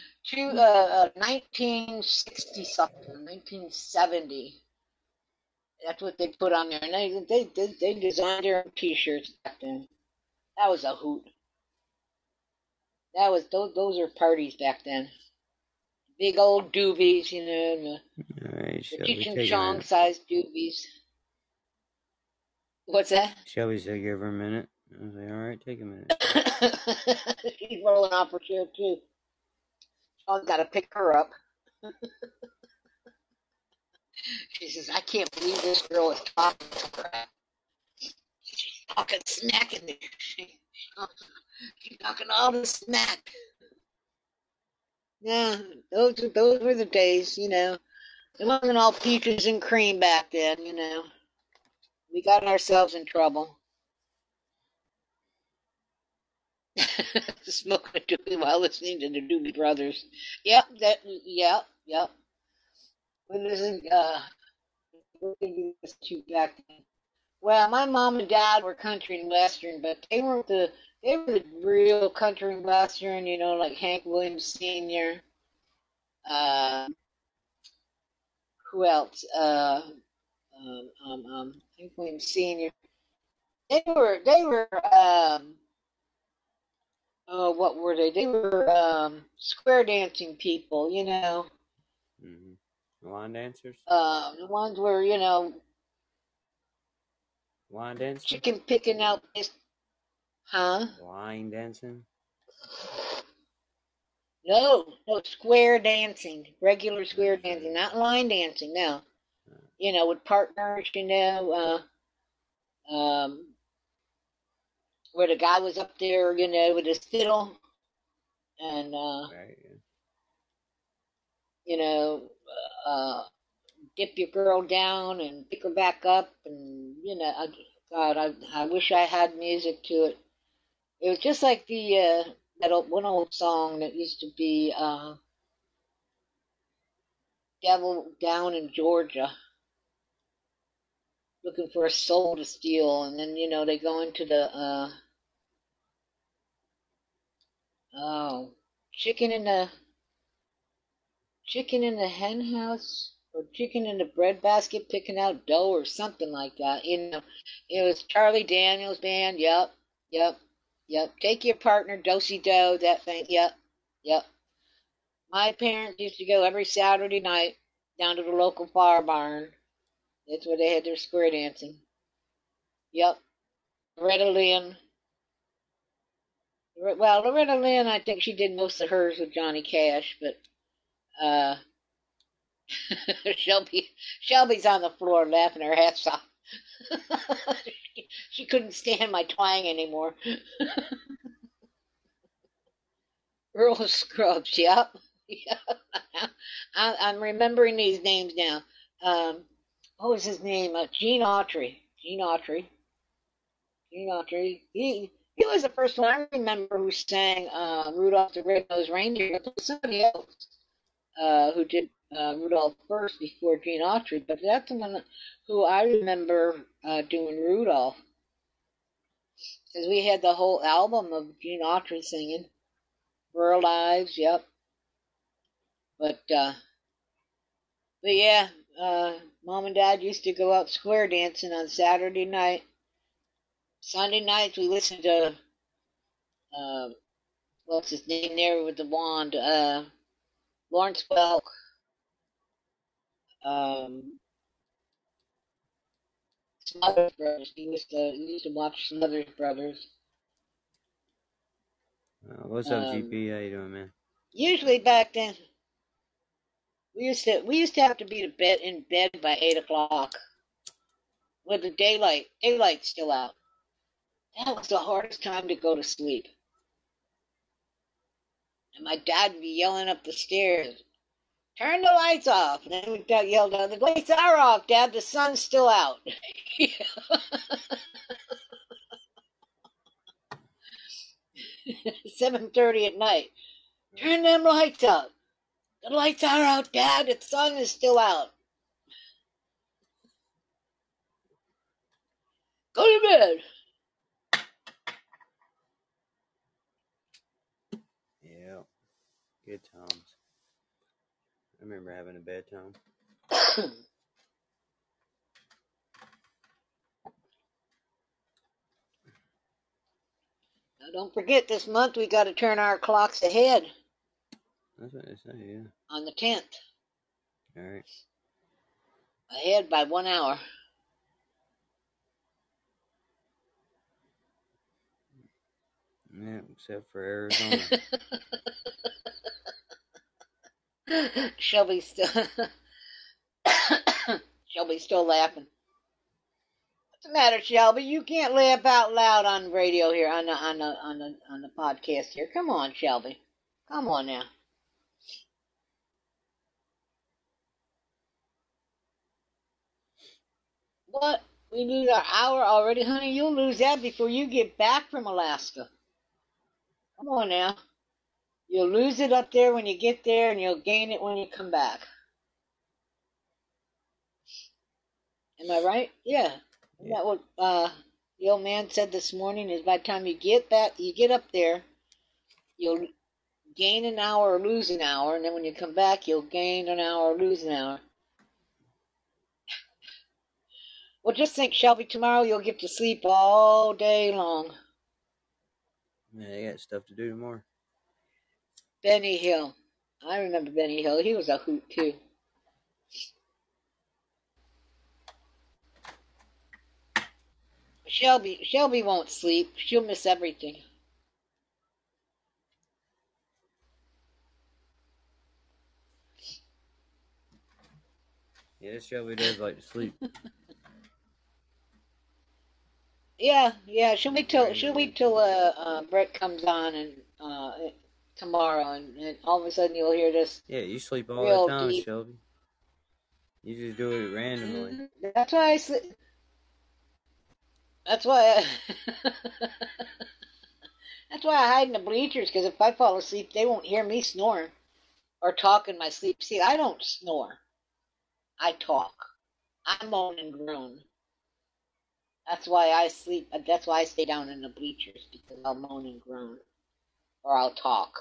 1960 something, 1970. That's what they put on there, and they designed their own T-shirts back then. That was a hoot. That was those are parties back then. Big old doobies, the Cheech and Chong sized doobies. What's that? Shelby said, "Give her a minute." I was like, "All right, take a minute." She's rolling off her chair too. I've got to pick her up. She says, "I can't believe this girl is talking crap. She's talking smack in there. She's talking all the smack." Yeah, those were the days, It wasn't all peaches and cream back then, We got ourselves in trouble. Smoking a doobie while listening to the Doobie Brothers. Yep. What did you listen to back then? Well, my mom and dad were country and western, but they were the real country and western, like Hank Williams Sr. Who else? Hank Williams Sr. They were what were they? They were square dancing people, Mm-hmm. Line dancers? The ones where, Line dancing? Chicken picking out this. Huh? Line dancing? No, square dancing. Regular square dancing, not line dancing, no. With partners, where the guy was up there, with his fiddle, and, Right, dip your girl down and pick her back up, and, God, I wish I had music to it. It was just like the, one old song that used to be, Devil Down in Georgia, looking for a soul to steal, and then, they go into the, chicken in the hen house, or chicken in the bread basket picking out dough, or something like that. It was Charlie Daniels Band. Yep. Take your partner, do-si-do, that thing. Yep. My parents used to go every Saturday night down to the local fire barn. That's where they had their square dancing. Yep. Loretta Lynn. Well, Loretta Lynn, I think she did most of hers with Johnny Cash, but Shelby's on the floor laughing her ass off. She couldn't stand my twang anymore. Earl Scruggs, yep. I'm remembering these names now. What was his name? Gene Autry. He was the first one I remember who sang Rudolph the Red-Nosed Reindeer. There was somebody else who did Rudolph first before Gene Autry, but that's the one who I remember doing Rudolph. Because we had the whole album of Gene Autry singing. Rural Lives, yep. But yeah, Mom and Dad used to go out square dancing on Saturday night. Sunday nights we listened to, what's his name there with the wand? Lawrence Welk. Smothers Brothers. He used to watch Smothers Brothers. What's up, GP? How you doing, man? Usually back then, we used to have to be in bed by 8 o'clock with the daylight's still out. That was the hardest time to go to sleep. And my dad would be yelling up the stairs, "Turn the lights off!" And then we got yelled out, "The lights are off, Dad. The sun's still out." 7:30 at night. "Turn them lights up. The lights are out, Dad. The sun is still out. Go to bed." Yeah, good times. I remember having a bedtime. Now, don't forget, this month we got to turn our clocks ahead. That's what they say, yeah. On the 10th. All right. Ahead by 1 hour. Yeah, except for Arizona. Shelby's still laughing. What's the matter, Shelby? You can't laugh out loud on radio here, on the podcast here. Come on, Shelby. Come on now. What? We lose our hour already, honey? You'll lose that before you get back from Alaska. Come on now. You'll lose it up there when you get there, and you'll gain it when you come back. Am I right? Yeah. Isn't that what the old man said this morning? Is by the time you get up there, you'll gain an hour or lose an hour, and then when you come back, you'll gain an hour or lose an hour. Well, just think, Shelby, tomorrow you'll get to sleep all day long. Yeah, they got stuff to do tomorrow. Benny Hill. I remember Benny Hill. He was a hoot, too. Shelby won't sleep. She'll miss everything. Yeah, Shelby does like to sleep. Yeah. She'll wait till Brett comes on and tomorrow, and all of a sudden you'll hear this. Yeah, you sleep all real the time, deep. Shelby. You just do it randomly. That's why I sleep. That's why that's why I hide in the bleachers, because if I fall asleep, they won't hear me snoring or talk in my sleep. See, I don't snore. I talk. I moan and groan. That's why I sleep. That's why I stay down in the bleachers, because I'll moan and groan, or I'll talk.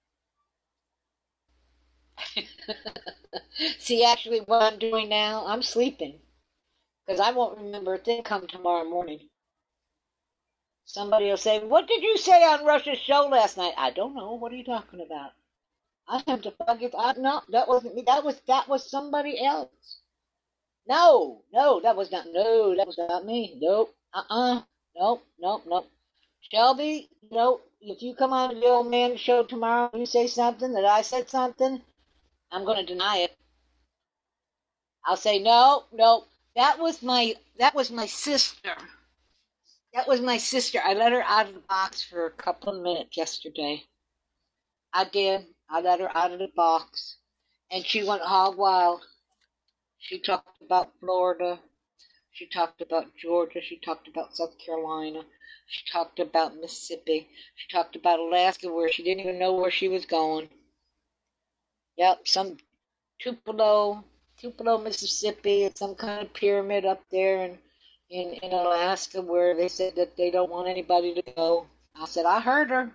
See, actually, what I'm doing now, I'm sleeping, because I won't remember a thing come tomorrow morning. Somebody will say, "What did you say on Rush's show last night?" I don't know. What are you talking about? I have to forget. No, that wasn't me. That was somebody else. No, that was not me. Nope. Nope. Shelby, if you come on the old man show tomorrow and you say something that I said something, I'm going to deny it. I'll say, no, that was my sister. That was my sister. I let her out of the box for a couple of minutes yesterday. I did. I let her out of the box, and she went hog wild. She talked about Florida. She talked about Georgia. She talked about South Carolina. She talked about Mississippi. She talked about Alaska, where she didn't even know where she was going. Yep, some Tupelo, Mississippi. It's some kind of pyramid up there in Alaska, where they said that they don't want anybody to go. I said, I heard her.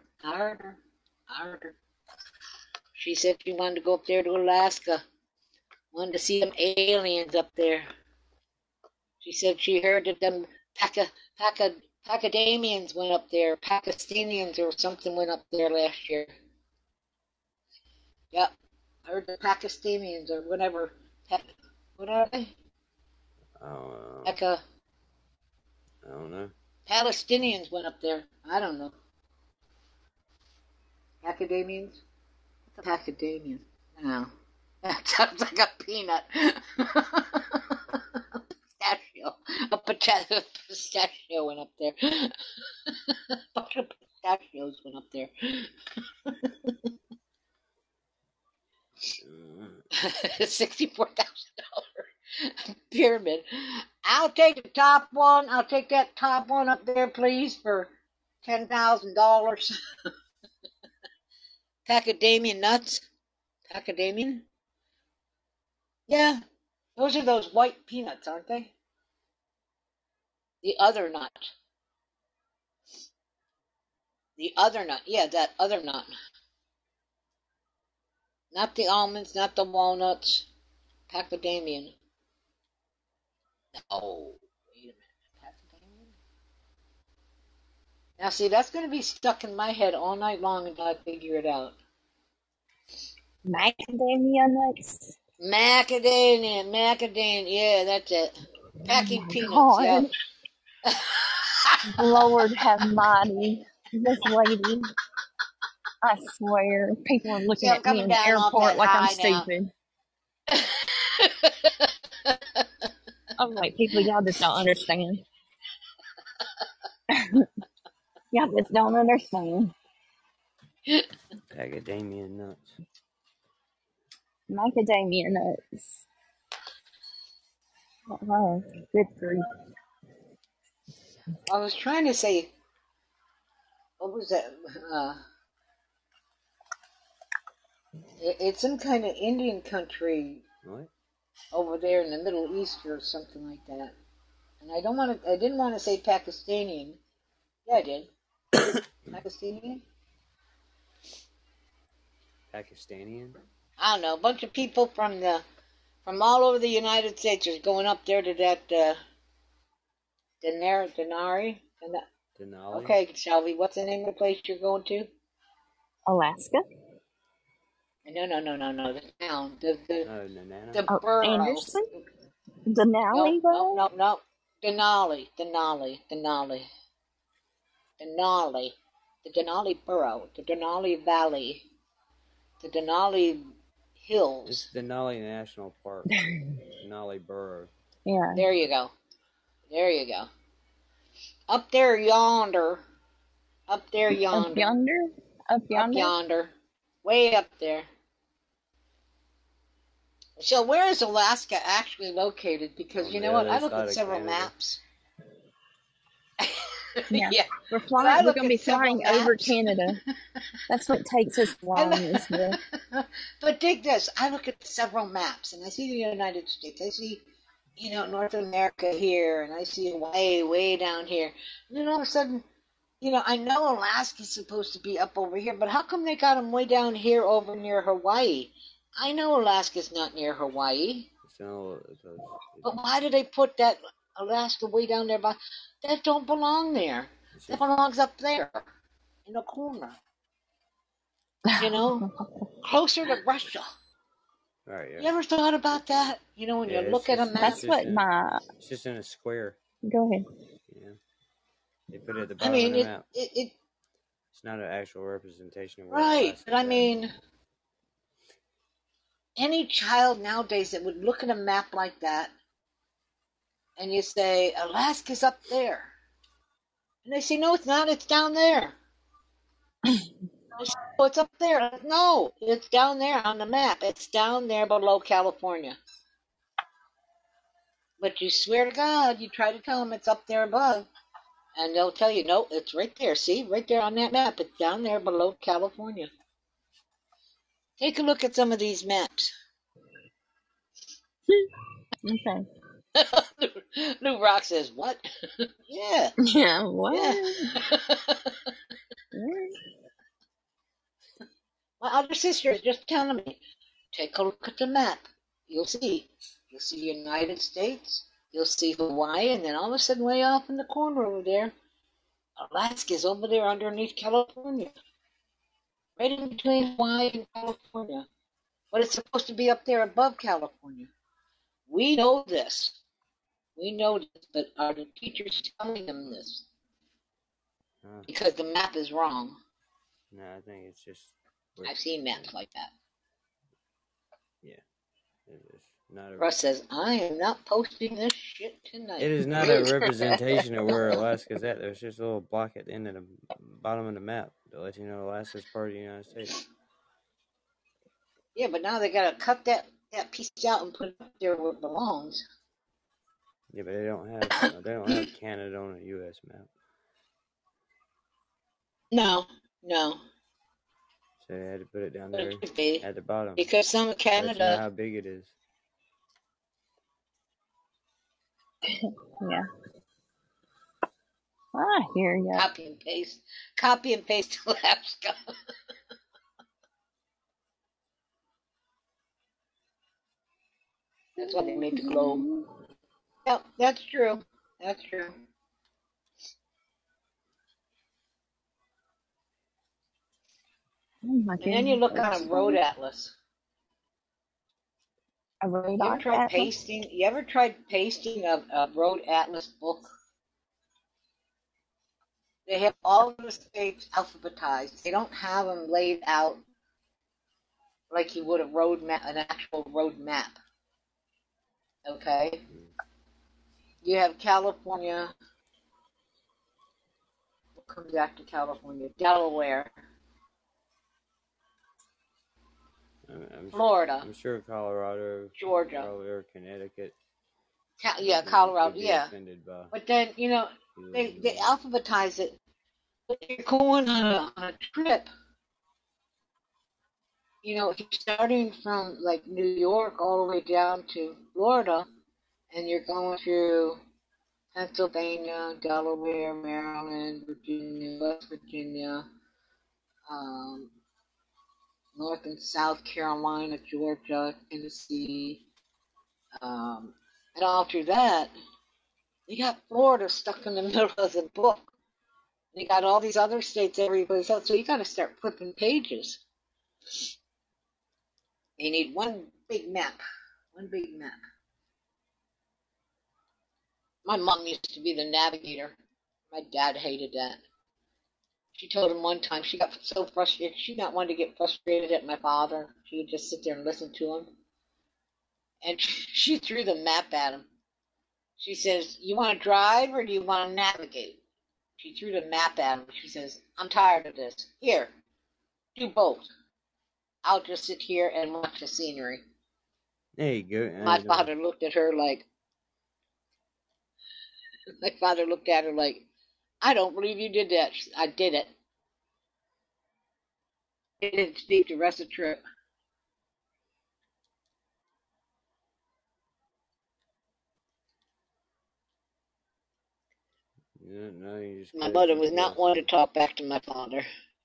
She said she wanted to go up there to Alaska. Wanted to see them aliens up there. She said she heard that them Pacadamians went up there. Pakistanians or something went up there last year. Yep. I heard the Pakistanians or whatever. What are they? I don't know. Like I don't know. Palestinians went up there. I don't know. Academians? What's a Academian? No. That sounds like a peanut. Pistachio. A pistachio went up there. A bunch of pistachios went up there. $64,000 pyramid. I'll take the top one. I'll take that top one up there, please, for $10,000. Macadamia nuts. Macadamian? Yeah, those are those white peanuts, aren't they? The other nut. The other nut. Yeah, that other nut. Not the almonds, not the walnuts. Macadamian. Oh, wait a minute. Macadamian? Now, see, that's going to be stuck in my head all night long until I figure it out. Macadamia nuts. Macadamia, yeah, that's it. Packing Oh my peanuts, God. yeah. Lord have mighty. This lady, I swear, people are See, looking I'm at me coming in the down off airport that like I'm high now. stupid. I'm like, people, y'all just don't understand. Y'all just don't understand. Macadamia nuts. Macadamia nuts. Oh, good grief. I was trying to say, what was that? It's some kind of Indian country What? over there in the Middle East or something like that. And I didn't want to say Pakistani. Yeah, I did. Pakistani? Pakistani? I don't know. A bunch of people from all over the United States are going up there to that Denali. Denali? Okay, Shelby, what's the name of the place you're going to? Alaska? No. The town. The Nanana? the borough. Anderson? Denali, though? No. Denali. The Denali borough. The Denali Valley. The Denali Hills. It's Denali National Park. Denali Borough. Yeah. There you go. Up there yonder. Up yonder? Way up there. So where is Alaska actually located? Because you know what? I looked at several maps. Yeah. We're going to be flying over Canada. That's what takes us long, isn't it? But dig this. I look at several maps, and I see the United States. I see, North America here, and I see way down here. And then all of a sudden, I know Alaska's supposed to be up over here, but how come they got them way down here over near Hawaii? I know Alaska's not near Hawaii. But why do they put that Alaska way down there? That don't belong there. That belongs up there in the corner. Closer to Russia. Right, yeah. You ever thought about that? When you look at a map? That's what It's just in a square. Go ahead. Yeah. They put it at the bottom of the map. It's not an actual representation of where right, but at. Any child nowadays that would look at a map like that and you say, Alaska's up there. And they say, no, it's not. It's down there. Oh, it's up there. No, it's down there on the map. It's down there below California. But you swear to God, you try to tell them it's up there above, and they'll tell you, no, it's right there. See, right there on that map. It's down there below California. Take a look at some of these maps. Okay. Lou Rock says, what? Yeah. Yeah, what? Yeah. My other sister is just telling me, take a look at the map. You'll see the United States, you'll see Hawaii, and then all of a sudden way off in the corner over there, Alaska's over there underneath California. Right in between Hawaii and California. But it's supposed to be up there above California. We know this. We know this, but are the teachers telling them this? Because the map is wrong. No, I think it's just. I've seen maps like that. Yeah, it is not a. Russ says, I am not posting this shit tonight. It is not a representation of where Alaska's at. There's just a little block at the end of the bottom of the map to let you know Alaska's part of the United States. Yeah, but now they gotta cut that piece out and put it up there where it belongs. Yeah, but they don't have Canada on a U.S. map. No. So they had to put it down there at the bottom. Because some of Canada. That's not how big it is. Yeah. I hear you. Copy and paste Alaska. That's why they made the globe. Yep, that's true. That's true. Oh my and then you look on a road atlas. A road You ever tried atlas? pasting? You ever tried pasting a road atlas book? They have all the states alphabetized. They don't have them laid out like you would a road map, an actual road map. Okay. You have California. We'll come back to California. Delaware. Florida. I'm sure Colorado, Georgia, probably, or Connecticut. Colorado, yeah. But then, they alphabetize it. But you're going on a trip. Starting from like New York all the way down to Florida, and you're going through Pennsylvania, Delaware, Maryland, Virginia, West Virginia, North and South Carolina, Georgia, Tennessee, and all through that, you got Florida stuck in the middle of the book. You got all these other states everybody's else, so you got to start flipping pages. You need one big map. My mom used to be the navigator. My dad hated that. She told him one time she got so frustrated. She not wanted to get frustrated at my father. She would just sit there and listen to him. And she threw the map at him. She says, "You want to drive or do you want to navigate?" She threw the map at him. She says, "I'm tired of this. Here, do both. I'll just sit here and watch the scenery." There you go. My father looked at her like, I don't believe you did that. I did it. He didn't speak the rest of the trip. My mother was not one to talk back to my father.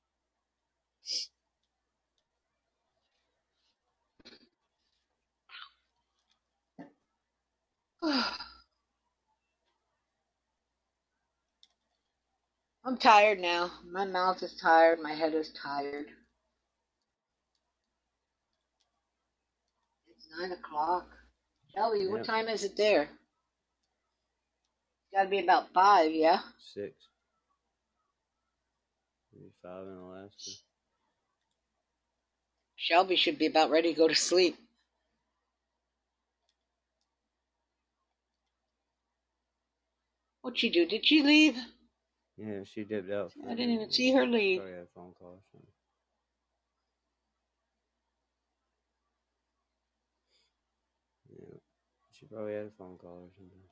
I'm tired now. My mouth is tired. My head is tired. It's 9 o'clock. Shelby, what time is it there? It's got to be about 5, yeah? 6. Maybe 5 in Alaska. Shelby should be about ready to go to sleep. What'd she do? Did she leave? Yeah, she dipped out. I didn't even see her leave. Probably had a phone call or something. Yeah, she probably had a phone call or something.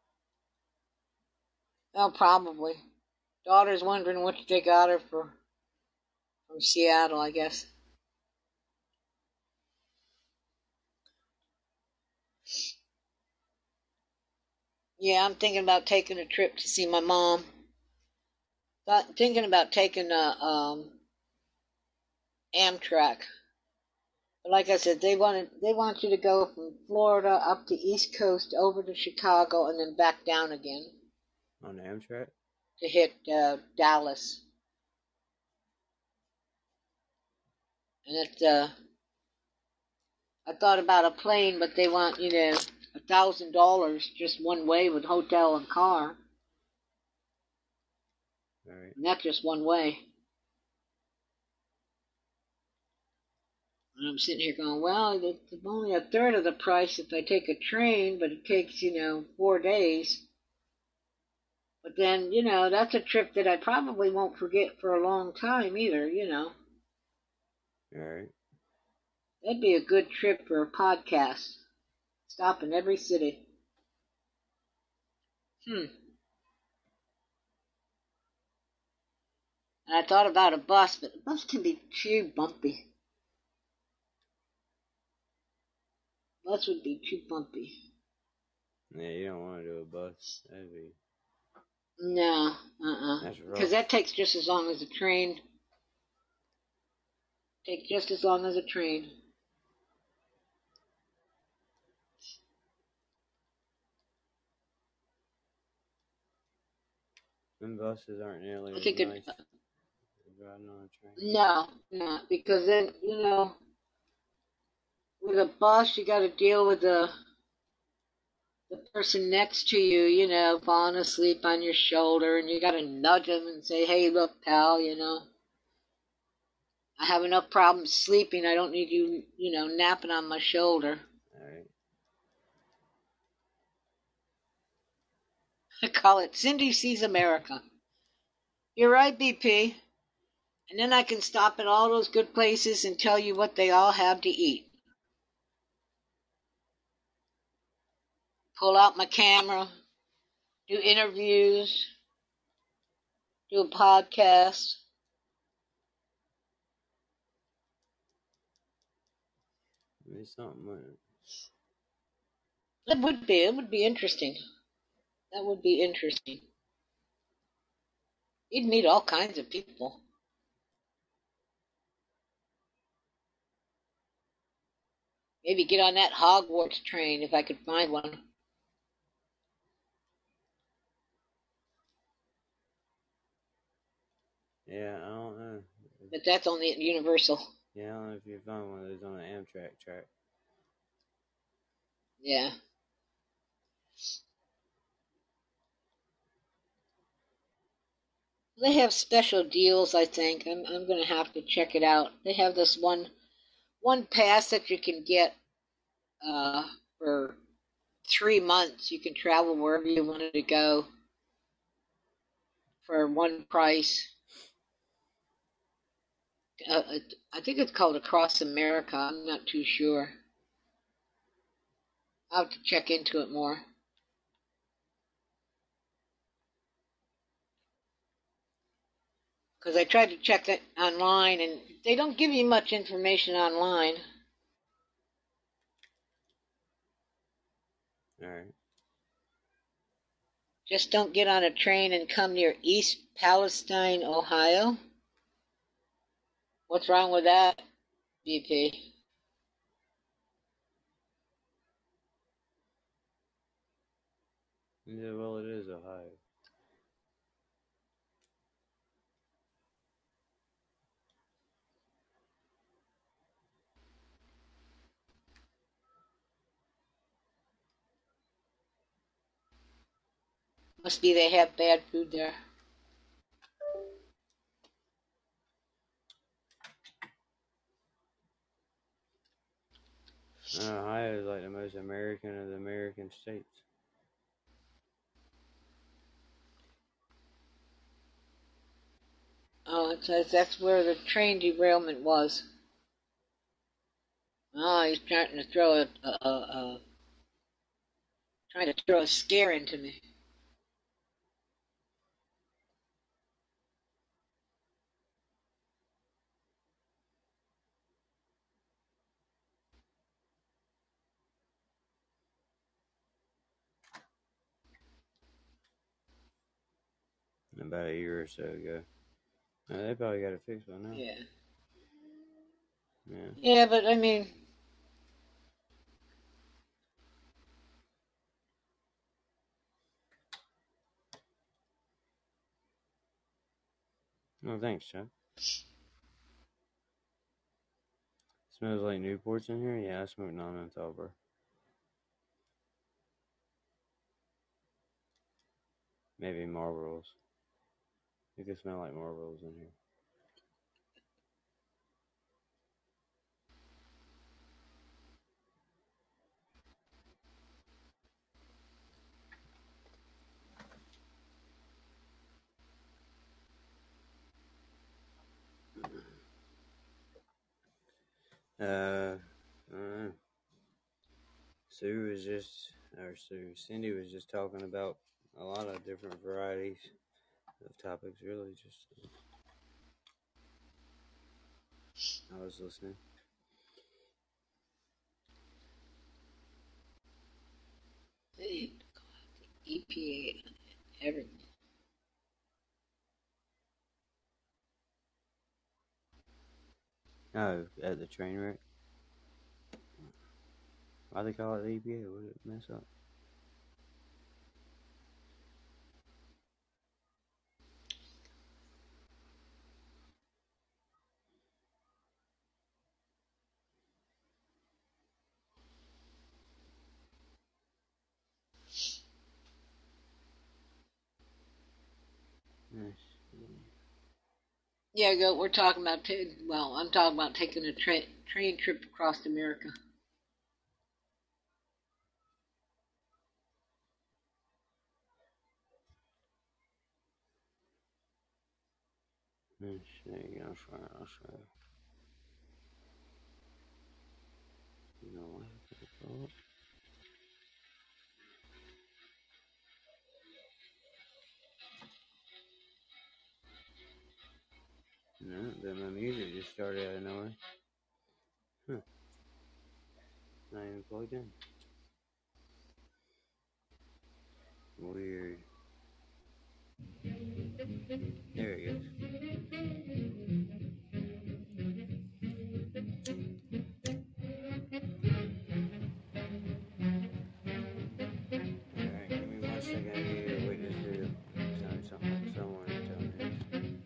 Oh, probably. Daughter's wondering what they got her from Seattle, I guess. Yeah, I'm thinking about taking a trip to see my mom. Thinking about taking a Amtrak. But like I said, they want you to go from Florida up the East Coast over to Chicago and then back down again. On Amtrak? To hit Dallas. And I thought about a plane, but they want, $1,000 just one way with hotel and car. All right. And that's just one way. And I'm sitting here going, well, it's only a third of the price if I take a train, but it takes, 4 days. But then, that's a trip that I probably won't forget for a long time either, All right. That'd be a good trip for a podcast. Stop in every city. And I thought about a bus, but the bus can be too bumpy. Bus would be too bumpy. Yeah, you don't want to do a bus. That'd be... No, That's rough. Because that takes just as long as a train. Takes just as long as a train. Them buses aren't nearly I as think nice as riding on a train. No, because then, with a bus, you got to deal with the person next to you, falling asleep on your shoulder, and you got to nudge them and say, hey, look, pal, I have enough problems sleeping. I don't need you, napping on my shoulder. All right. I call it Cindy Sees America. You're right, BP. And then I can stop at all those good places and tell you what they all have to eat. Pull out my camera, do interviews, do a podcast. Maybe something like It would be. It would be interesting. That would be interesting. You'd meet all kinds of people. Maybe get on that Hogwarts train if I could find one. Yeah, I don't know. But that's only at Universal. Yeah, I don't know if you find one of those on the Amtrak track. Yeah. They have special deals, I think. I'm going to have to check it out. They have this one pass that you can get for 3 months. You can travel wherever you wanted to go for one price. I think it's called Across America. I'm not too sure. I'll have to check into it more. Because I tried to check that online, and they don't give you much information online. All right. Just don't get on a train and come near East Palestine, Ohio. What's wrong with that, BP? Yeah, well, it is Ohio. Must be they have bad food there. Ohio is like the most American of the American states. Oh, it says that's where the train derailment was. Oh, he's trying to throw a scare into me. About a year or so ago. They probably got it fixed by now. Yeah. Yeah. Yeah, but I mean, Oh, thanks, Chuck. Smells like Newports in here? Yeah, I smoke non-menthol, bro. Maybe Marlboros. It could smell like Marlboros in here. Cindy was just talking about a lot of different varieties of topics, really. Just I was listening. They go out the EPA on everything. Oh, at the train wreck? Why they call it the EPA? What did it mess up? Yeah, we're talking about, I'm talking about taking a train trip across America. There you go. I'll show you. You know what? No, then my music just started out of nowhere. Huh. Not even plugged in. Weird. There it goes. Alright, give me 1 second here. Wait, this video. Tell me something. Someone tell me this.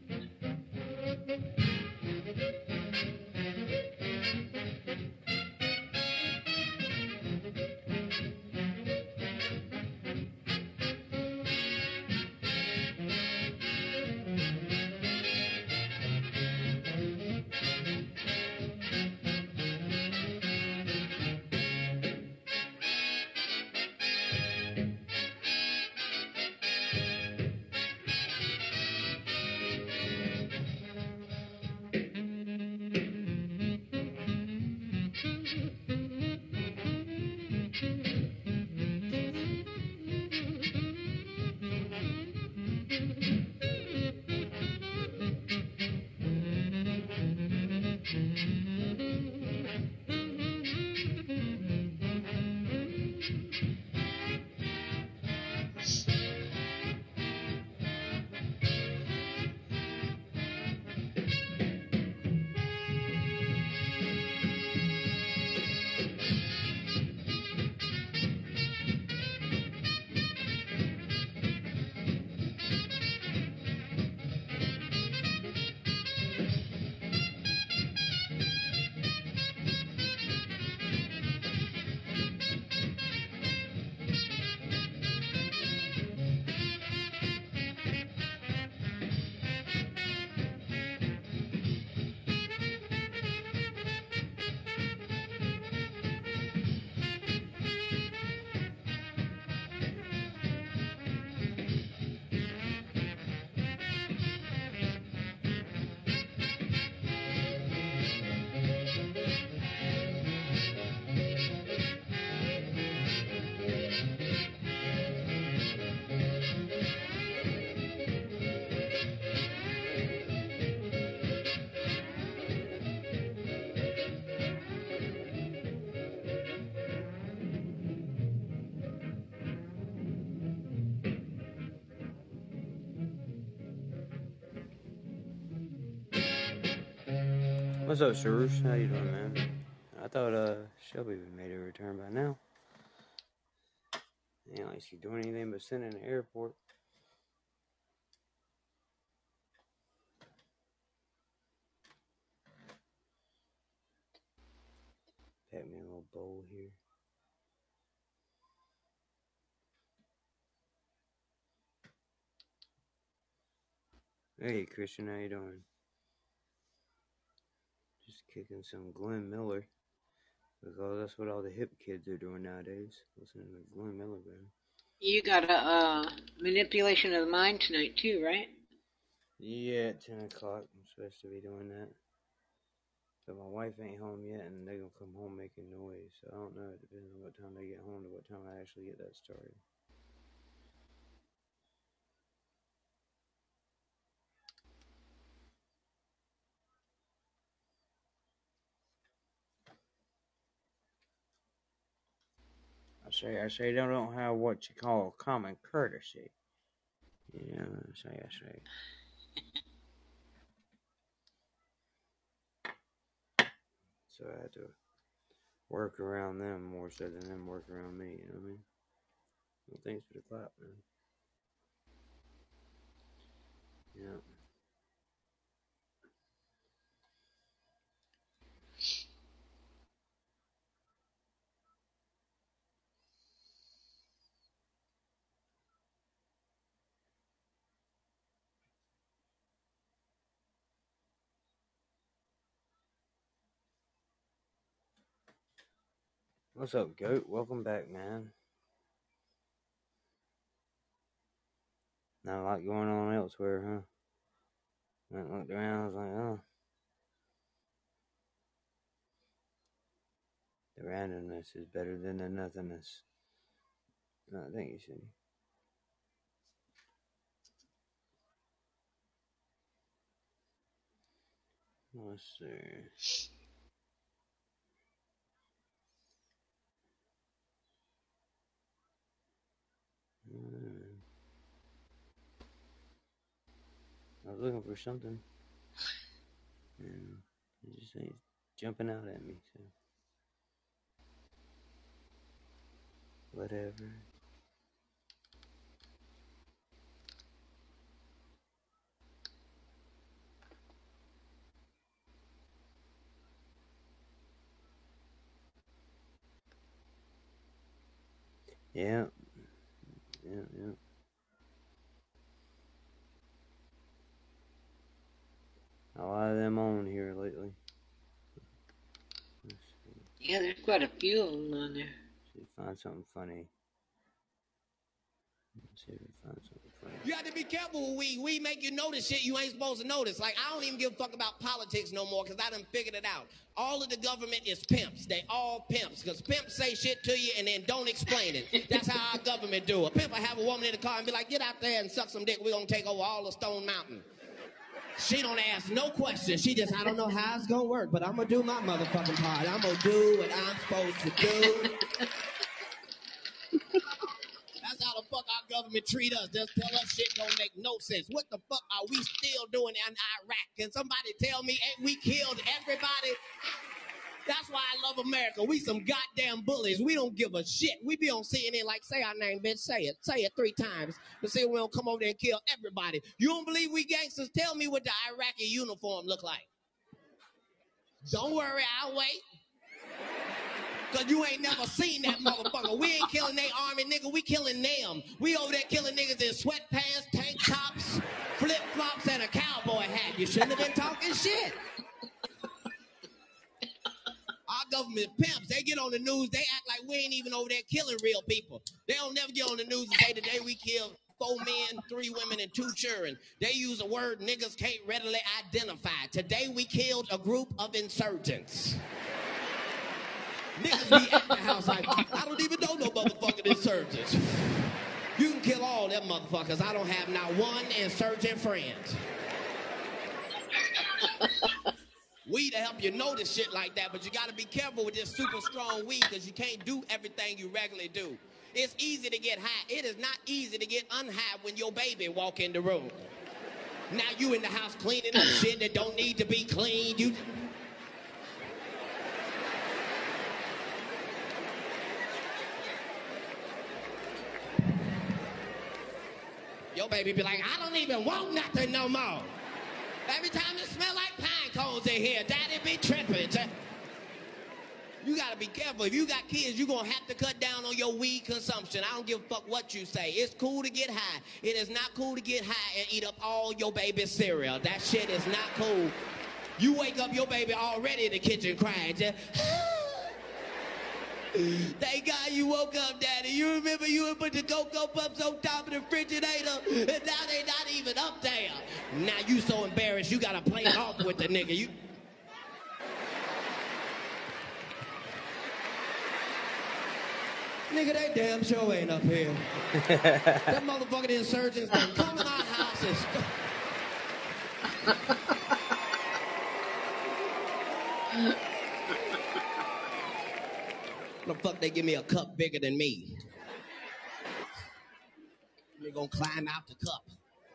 What's up, Suresh? How you doing, man? I thought Shelby made a return by now. Ain't like she's doing anything but sitting in the airport. Pack me a little bowl here. Hey, Christian, how you doing? Just kicking some Glenn Miller. Because that's what all the hip kids are doing nowadays. Listening to Glenn Miller, man. You got a manipulation of the mind tonight too, right? Yeah, at 10 o'clock. I'm supposed to be doing that. But my wife ain't home yet, and they're going to come home making noise. So I don't know. It depends on what time they get home to what time I actually get that started. I say they don't have what you call common courtesy. You know, I say. So I had to work around them more so than them work around me, you know what I mean? Well, thanks for the clap, man. Yeah. What's up, Goat? Welcome back, man. Not a lot going on elsewhere, huh? Went and looked around, I was like, oh. The randomness is better than the nothingness. No, thank you, Cindy. Let's see. I was looking for something, and it just ain't jumping out at me, so whatever. Yeah. A lot of them on here lately. Yeah, there's quite a few of them on there. See, find something funny. Let's see if we find something funny. You have to be careful with weed. Weed make you notice shit you ain't supposed to notice. Like, I don't even give a fuck about politics no more because I done figured it out. All of the government is pimps. They all pimps because pimps say shit to you and then don't explain it. That's how our government do. A pimp will have a woman in the car and be like, get out there and suck some dick. We're going to take over all of Stone Mountain. She don't ask no questions. She just, I don't know how it's going to work, but I'm going to do my motherfucking part. I'm going to do what I'm supposed to do. That's how the fuck our government treat us. Just tell us shit don't make no sense. What the fuck are we still doing in Iraq? Can somebody tell me, ain't we killed everybody? That's why I love America. We some goddamn bullies. We don't give a shit. We be on CNN like, say our name, bitch. Say it. Say it 3 times. But see, we don't come over there and kill everybody. You don't believe we gangsters? Tell me what the Iraqi uniform look like. Don't worry, I'll wait. Because you ain't never seen that motherfucker. We ain't killing they army, nigga. We killing them. We over there killing niggas in sweatpants, tank tops, flip-flops, and a cowboy hat. You shouldn't have been talking shit. Our government pimps, they get on the news, they act like we ain't even over there killing real people. They don't never get on the news and say today we killed 4 men, 3 women, and 2 children. They use a word niggas can't readily identify. Today we killed a group of insurgents. Niggas be at the house like, I don't even know no motherfucking insurgents. You can kill all them motherfuckers. I don't have not one insurgent friend. Weed to help you notice shit like that, but you got to be careful with this super strong weed because you can't do everything you regularly do. It's easy to get high. It is not easy to get unhigh when your baby walk in the room. Now you in the house cleaning up shit that don't need to be cleaned. Your baby be like, I don't even want nothing no more. Every time it smell like pine cones in here, daddy be tripping. You gotta be careful. If you got kids, you're gonna have to cut down on your weed consumption. I don't give a fuck what you say. It's cool to get high. It is not cool to get high and eat up all your baby's cereal. That shit is not cool. You wake up your baby already in the kitchen crying. Just, thank God you woke up, Daddy. You remember you would put the Cocoa Puffs on top of the refrigerator, and now they not even up there. Now you so embarrassed you gotta play off with the nigga. You. Nigga, they damn sure ain't up here. That motherfucking insurgents done come in our houses. The fuck they give me a cup bigger than me? They gonna climb out the cup.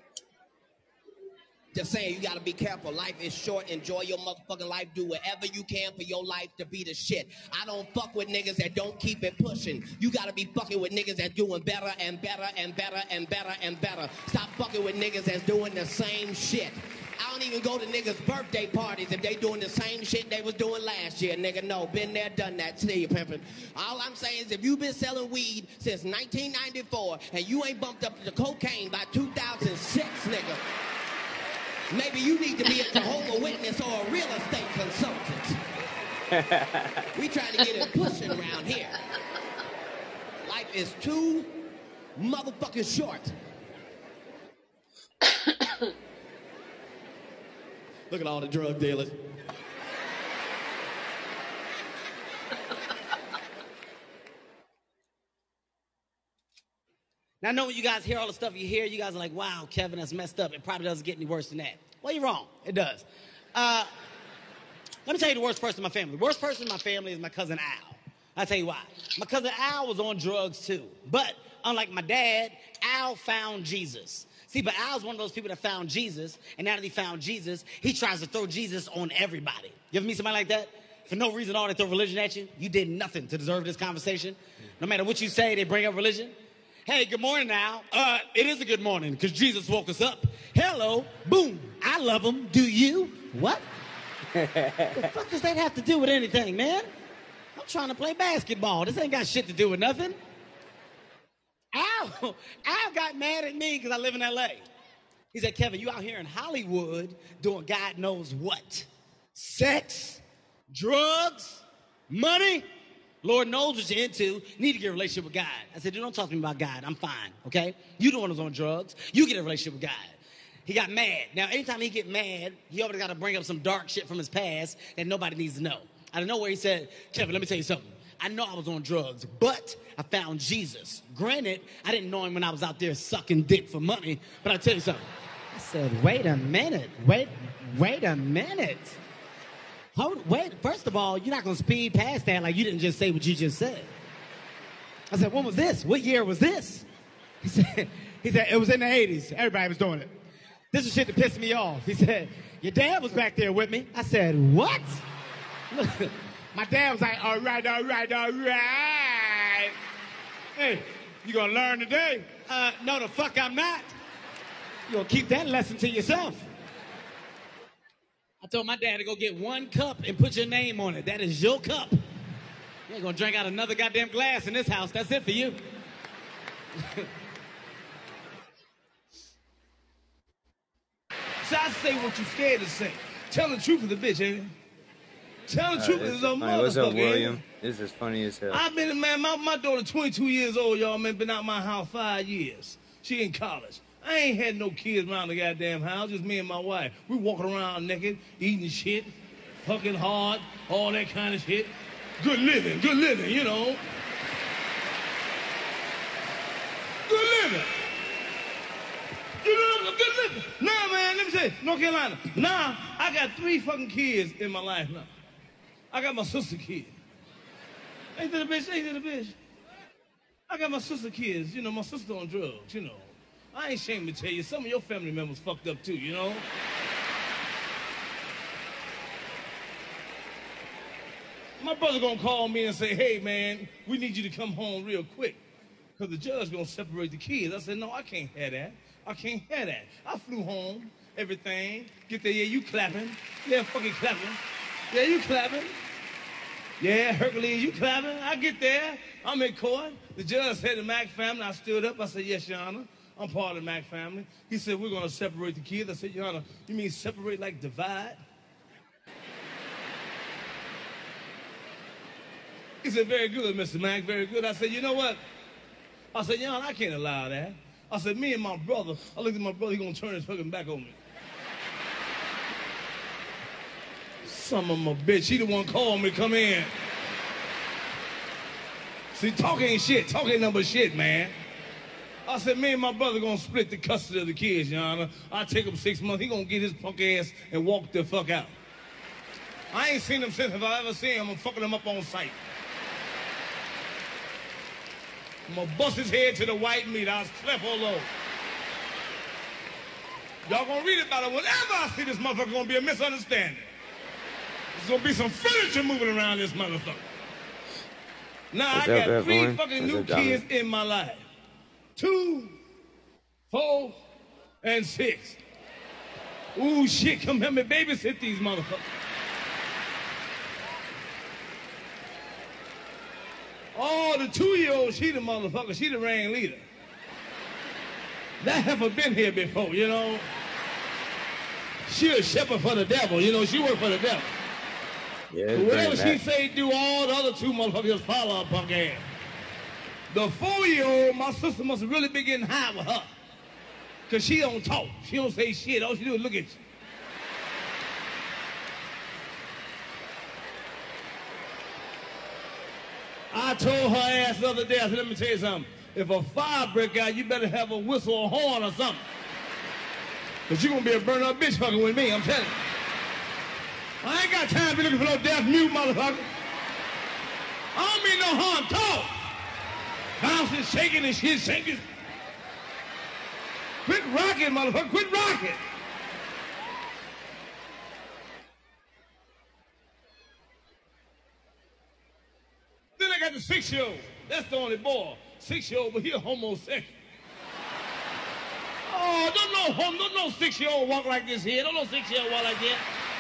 Just saying, you gotta be careful. Life is short. Enjoy your motherfucking life. Do whatever you can for your life to be the shit. I don't fuck with niggas that don't keep it pushing. You gotta be fucking with niggas that's doing better and better and better and better and better. Stop fucking with niggas that's doing the same shit. I don't even go to niggas' birthday parties if they doing the same shit they was doing last year, nigga. No, been there, done that. See you, pimpin'. All I'm saying is if you've been selling weed since 1994 and you ain't bumped up to cocaine by 2006, nigga, maybe you need to be a Jehovah's Witness or a real estate consultant. We trying to get it pushing around here. Life is too motherfucking short. Look at all the drug dealers. Now, I know when you guys hear all the stuff you hear, you guys are like, wow, Kevin, that's messed up. It probably doesn't get any worse than that. Well, you're wrong. It does. Let me tell you the worst person in my family. The worst person in my family is my cousin Al. I'll tell you why. My cousin Al was on drugs too. But unlike my dad, Al found Jesus. See, but Al's one of those people that found Jesus, and now that he found Jesus, he tries to throw Jesus on everybody. You ever meet somebody like that? For no reason at all, they throw religion at you. You did nothing to deserve this conversation. No matter what you say, they bring up religion. Hey, good morning, Al. It is a good morning, because Jesus woke us up. Hello, boom. I love him. Do you? What? The fuck does that have to do with anything, man? I'm trying to play basketball. This ain't got shit to do with nothing. Al got mad at me because I live in L.A. He said, Kevin, you out here in Hollywood doing God knows what. Sex, drugs, money. Lord knows what you're into. You need to get a relationship with God. I said, dude, don't talk to me about God. I'm fine, okay? You the one who's on drugs. You get a relationship with God. He got mad. Now, anytime he get mad, he always got to bring up some dark shit from his past that nobody needs to know. Out of nowhere, he said, Kevin, let me tell you something. I know I was on drugs, but I found Jesus. Granted, I didn't know him when I was out there sucking dick for money, but I'll tell you something. I said, wait a minute. Wait a minute. Wait, first of all, you're not going to speed past that like you didn't just say what you just said. I said, when was this? What year was this? He said, it was in the 80s. Everybody was doing it. This is shit that pissed me off. He said, your dad was back there with me. I said, what? My dad was like, all right. Hey, you gonna learn today? No, the fuck I'm not. You gonna keep that lesson to yourself. I told my dad to go get one cup and put your name on it. That is your cup. You ain't gonna drink out another goddamn glass in this house. That's it for you. So I say what you scared to say. Tell the truth of the bitch, ain't it? Tell the truth is a motherfucker. What's up, William? This is funny as hell. I've been, man, my daughter 22 years old, y'all, man, been out my house 5 years. She in college. I ain't had no kids around the goddamn house, just me and my wife. We walking around naked, eating shit, fucking hard, all that kind of shit. Good living, you know. Good living. You know, good living. Nah, man, let me say, North Carolina. Nah, I got 3 fucking kids in my life now. I got my sister kid. Ain't that a bitch? I got my sister kids. You know, my sister on drugs, you know. I ain't ashamed to tell you, some of your family members fucked up too, you know. My brother gonna call me and say, hey, man, we need you to come home real quick because the judge gonna separate the kids. I said, no, I can't have that. I flew home, everything. Get there, yeah, you clapping. Yeah, fucking clapping. Yeah, you clapping. Yeah, Hercules, you clapping? I get there. I'm in court. The judge said the Mack family. I stood up. I said, yes, Your Honor. I'm part of the Mack family. He said, we're going to separate the kids. I said, Your Honor, you mean separate like divide? He said, very good, Mr. Mack, very good. I said, you know what? I said, Your Honor, I can't allow that. I said, me and my brother, I looked at my brother, he's going to turn his fucking back on me. Son of a bitch, he the one called me to come in. See, talk ain't shit. Talk ain't nothing but shit, man. I said, me and my brother gonna split the custody of the kids, Your Honor. I take him 6 months. He gonna get his punk ass and walk the fuck out. I ain't seen him since. If I ever see him, I'm fucking him up on sight. I'm gonna bust his head to the white meat. I'll cleft all over. Y'all gonna read about it. Whenever I see this motherfucker, gonna be a misunderstanding. There's gonna be some furniture moving around this motherfucker. Now, I got 3 fucking new kids in my life. 2, 4, and 6. Ooh, shit, come help me babysit these motherfuckers. Oh, the 2-year-old, she the motherfucker. She the ring leader. That heifer been here before, you know. She a shepherd for the devil, you know. She work for the devil. Yeah, so whatever she say, do, all the other 2 motherfuckers follow her punk ass. The 4-year-old, my sister must have really been getting high with her. Because she don't talk. She don't say shit. All she do is look at you. I told her ass the other day, I said, let me tell you something. If a fire break out, you better have a whistle or horn or something. Because you're going to be a burn-up bitch fucking with me, I'm telling you. I ain't got time to be looking for no deaf mute motherfucker. I don't mean no harm. Talk. Bouncing, shaking and shit, shaking. Quit rocking, motherfucker. Quit rocking. Then I got the 6-year-old. That's the only boy. 6-year-old, but he a homosexual. Oh, don't no 6-year-old walk like this here. Don't no 6-year-old walk like that.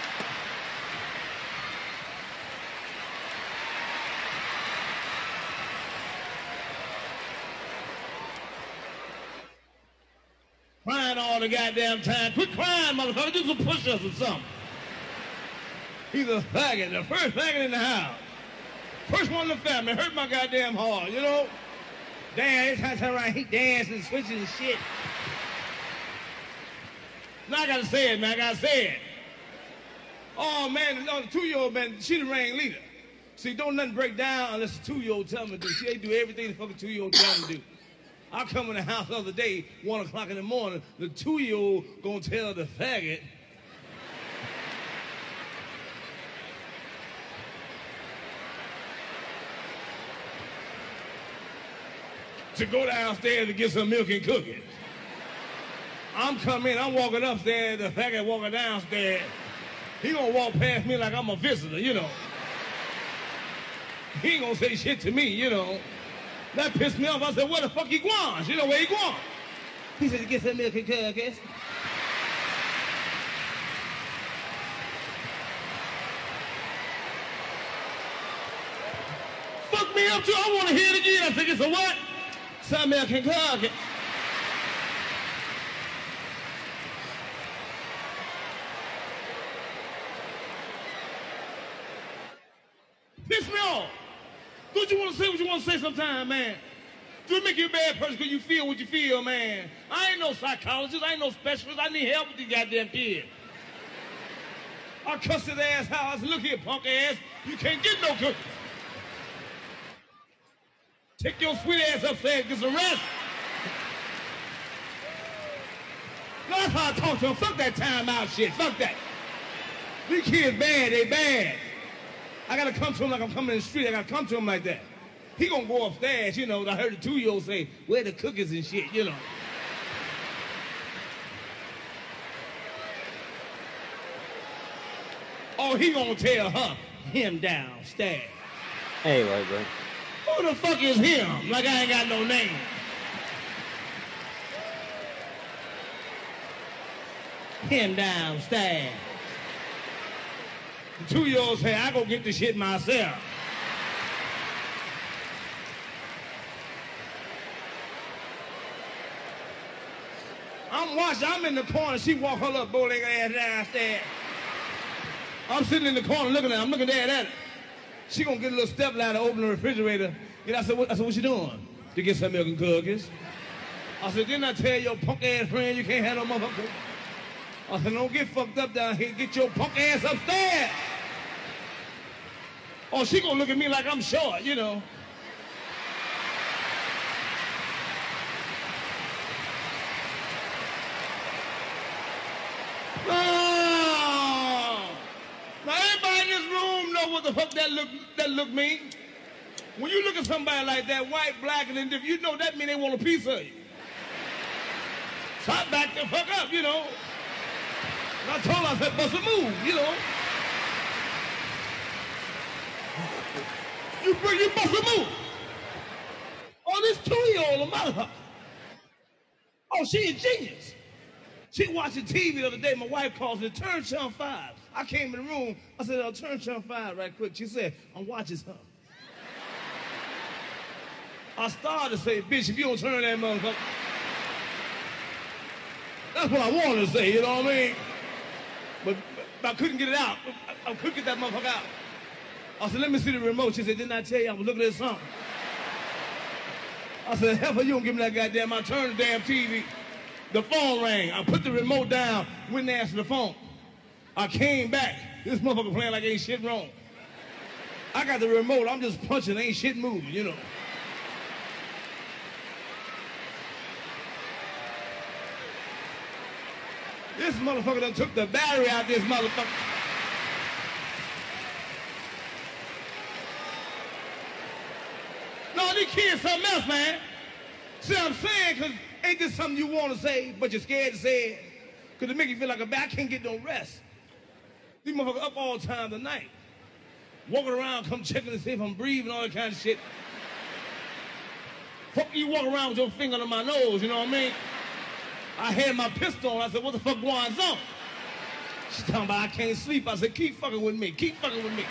Crying all the goddamn time. Quit crying, motherfucker. Do some push-ups or something. He's a faggot. The first faggot in the house. First one in the family. Hurt my goddamn heart, you know? Damn, every time I turn around, he dancing, switching and shit. Now I gotta say it, man. I gotta say it. Oh, man, the 2-year-old, man, she the ring leader. See, don't nothing break down unless the 2-year-old tell me to do. She ain't do everything the fucking 2-year-old tell me to do. I come in the house the other day, 1 o'clock in the morning, the 2-year-old gonna tell the faggot to go downstairs to get some milk and cookies. I'm coming, I'm walking upstairs, the faggot walking downstairs. He gonna walk past me like I'm a visitor, you know. He ain't gonna say shit to me, you know. That pissed me off. I said, where the fuck he going? You know where he going? He said, get some milk and cookies. Fuck me up too. I want to hear it again. I said, get some what? Some milk and cookies. Piss me off. Don't you want to say what you want to say sometime, man? Do it make you a bad person because you feel what you feel, man? I ain't no psychologist. I ain't no specialist. I need help with these goddamn kids. I cussed his ass out. I said, look here, punk ass. You can't get no cookies. Take your sweet ass upstairs and get some rest. No, that's how I talk to him. Fuck that time out shit. Fuck that. These kids bad. They bad. I gotta come to him like I'm coming in the street. I gotta come to him like that. He gonna go upstairs, you know. I heard the 2-year-old say, where the cookies and shit, you know. Oh, he gonna tell her, him downstairs. Hey, white boy. Who the fuck is him? Like I ain't got no name. Him downstairs. The 2-year-old say, I go get the shit myself. I'm watching. I'm in the corner. She walk her little bow-legged ass downstairs. I'm sitting in the corner looking at her. I'm looking dead at her. She gonna get a little step ladder, open the refrigerator. And I said, what you doing? To get some milk and cookies. I said, didn't I tell your punk ass friend you can't have no motherfucker? I said, don't get fucked up down here. Get your punk ass upstairs. Oh, she gonna look at me like I'm short, you know. Now everybody in this room know what the fuck that look mean. When you look at somebody like that, white, black, and indifferent, you know that mean they want a piece of you. So I backed the fuck up, you know. And I told her, I said, bust a move, you know. You bust a move. Oh, this 2-year-old a motherfucker. Oh, she a genius. She watching TV the other day. My wife calls me, turn channel 5. I came in the room. I said, I'll turn channel 5 right quick. She said, I'm watching something. I started to say, bitch, if you don't turn that motherfucker. That's what I wanted to say, you know what I mean? But I couldn't get it out. I couldn't get that motherfucker out. I said, let me see the remote. She said, didn't I tell you I was looking at something? I said, hell, you don't give me that goddamn. I turned the damn TV. The phone rang. I put the remote down, went and answered the phone. I came back. This motherfucker playing like ain't shit wrong. I got the remote. I'm just punching, ain't shit moving, you know. This motherfucker done took the battery out this motherfucker. No, these kids something else, man. See what I'm saying? Because ain't this something you want to say, but you're scared to say it? Because it make you feel like a bat. I can't get no rest. These motherfuckers up all time of the night. Walking around, come checking to see if I'm breathing, all that kind of shit. Fuck you walk around with your finger on my nose, you know what I mean? I had my pistol on. I said, what the fuck going on? She's talking about I can't sleep. I said, keep fucking with me. Keep fucking with me.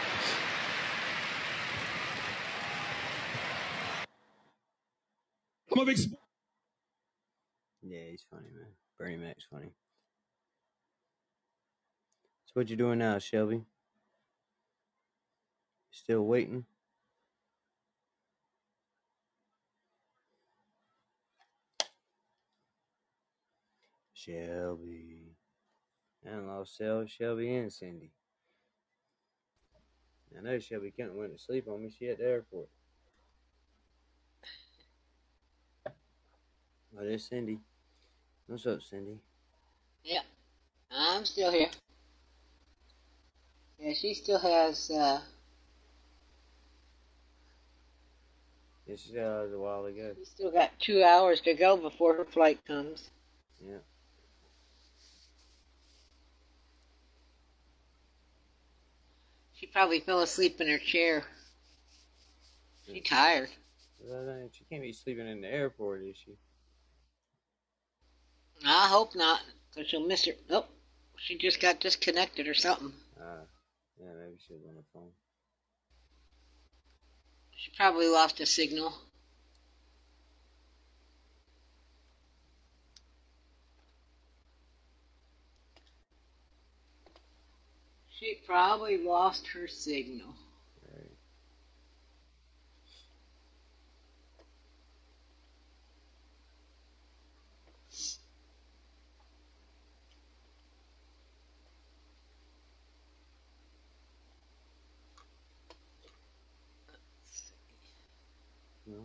I'm a big Yeah, he's funny, man. Bernie Mac's funny. So what you doing now, Shelby? Still waiting? Shelby. I lost Shelby and Cindy. I know Shelby couldn't went to sleep on me. She at the airport. Oh, there's Cindy. What's up, Cindy? Yeah, I'm still here. Yeah, she still has, Yeah, she still has a while to go. she still got 2 hours to go before her flight comes. Yeah. She probably fell asleep in her chair. She's tired. She can't be sleeping in the airport, is she? I hope not, because she'll miss her. Oh, she just got disconnected or something. Yeah, maybe she was on the phone. She probably lost a signal. She probably lost her signal. Right. No.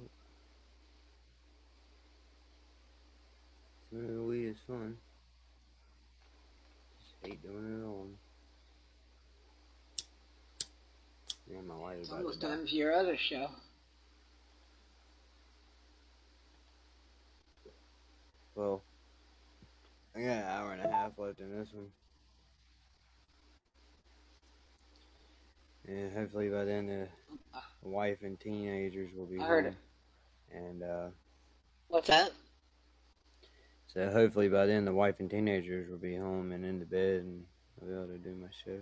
Smoking weed is fun. Just hate doing it alone. Yeah, my wife It's about almost to die. time for your other show. Well, I got an hour and a half left in this one. And hopefully by then the wife and teenagers will be I heard home. it. And What's that? so hopefully by then the wife and teenagers will be home and in the bed and I'll be able to do my show.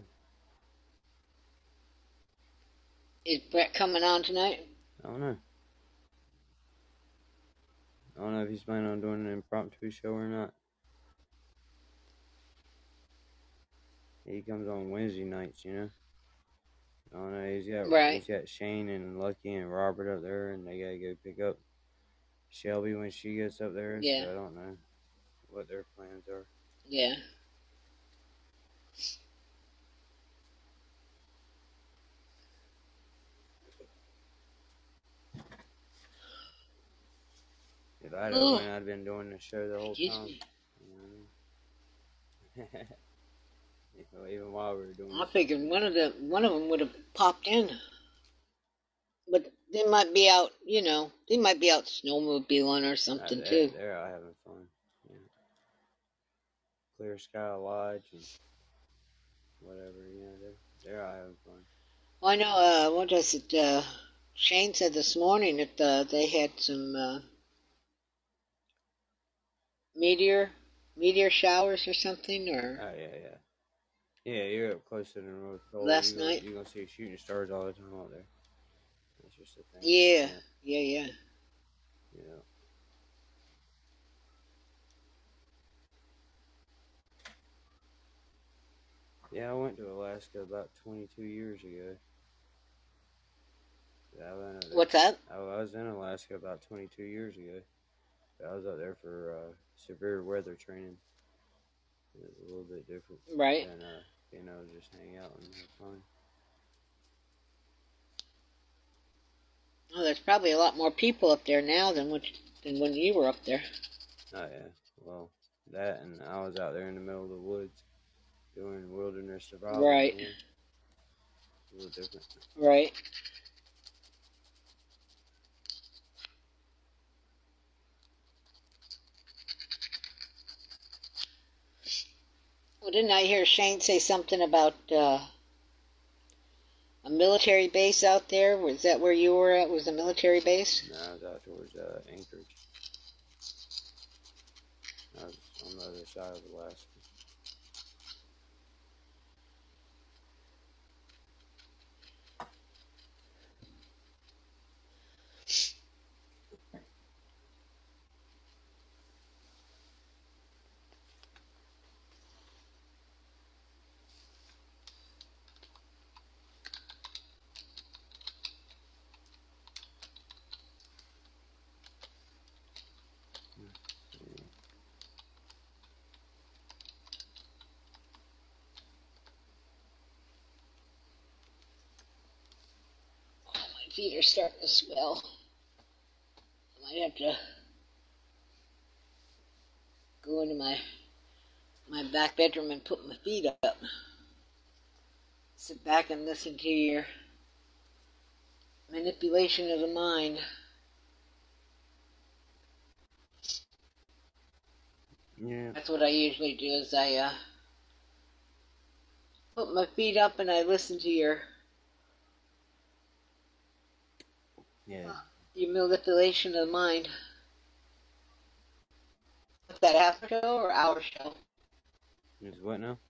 Is Brett coming on tonight? I don't know. I don't know if he's planning on doing an impromptu show or not. He comes on Wednesday nights, you know. I don't know. He's got Shane and Lucky and Robert up there, and they gotta go pick up Shelby when she gets up there. Yeah. So I don't know what their plans are. Yeah. If I'd have went, I'd been doing the show the whole time. Even while we were doing I figured one of them would have popped in. But they might be out, you know, they might be out snowmobiling or something too. They're out having fun. Yeah. Clear Sky Lodge and whatever, you know, they're out having fun. Well, I know, what does it, Shane said this morning that they had some meteor showers or something, or... Oh, yeah. Yeah, you're up close to the North Pole. Last night. You're going to see shooting stars all the time out there. That's just the thing. Yeah. Yeah, I went to Alaska about 22 years ago. What's that? I was in Alaska about 22 years ago. I was up there for severe weather training. It was a little bit different. Right. Than, just hang out and have fun. Oh, there's probably a lot more people up there now than when you were up there. Oh, yeah. Well, that, and I was out there in the middle of the woods doing wilderness survival. Right. Yeah. A little different. Right. Well, didn't I hear Shane say something about a military base out there? Was that where you were at? Was a military base? No, I was out towards Anchorage. I was on the other side of Alaska. Feet are starting to swell. I might have to go into my back bedroom and put my feet up. Sit back and listen to your manipulation of the mind. Yeah. That's what I usually do, is I put my feet up and I listen to your manipulation of the mind. What's that, half show or hour show? Is what now?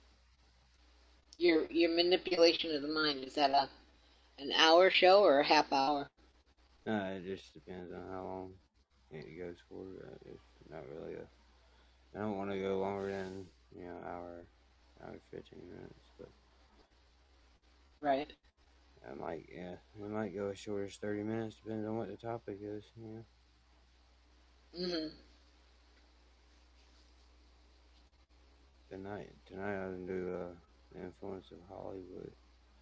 Your manipulation of the mind, is that an hour show or a half hour? It just depends on how long it goes for. It's not really I don't want to go longer than hour 15 minutes, but right. It might go as short as 30 minutes, depending on what the topic is. Tonight I'm gonna do the influence of Hollywood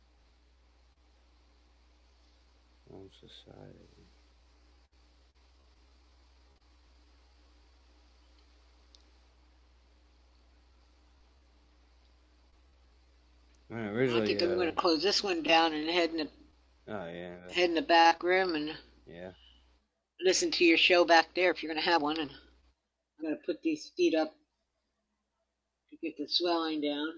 on society. I think I'm going to close this one down and head in the back room and listen to your show back there if you're going to have one. And I'm going to put these feet up to get the swelling down.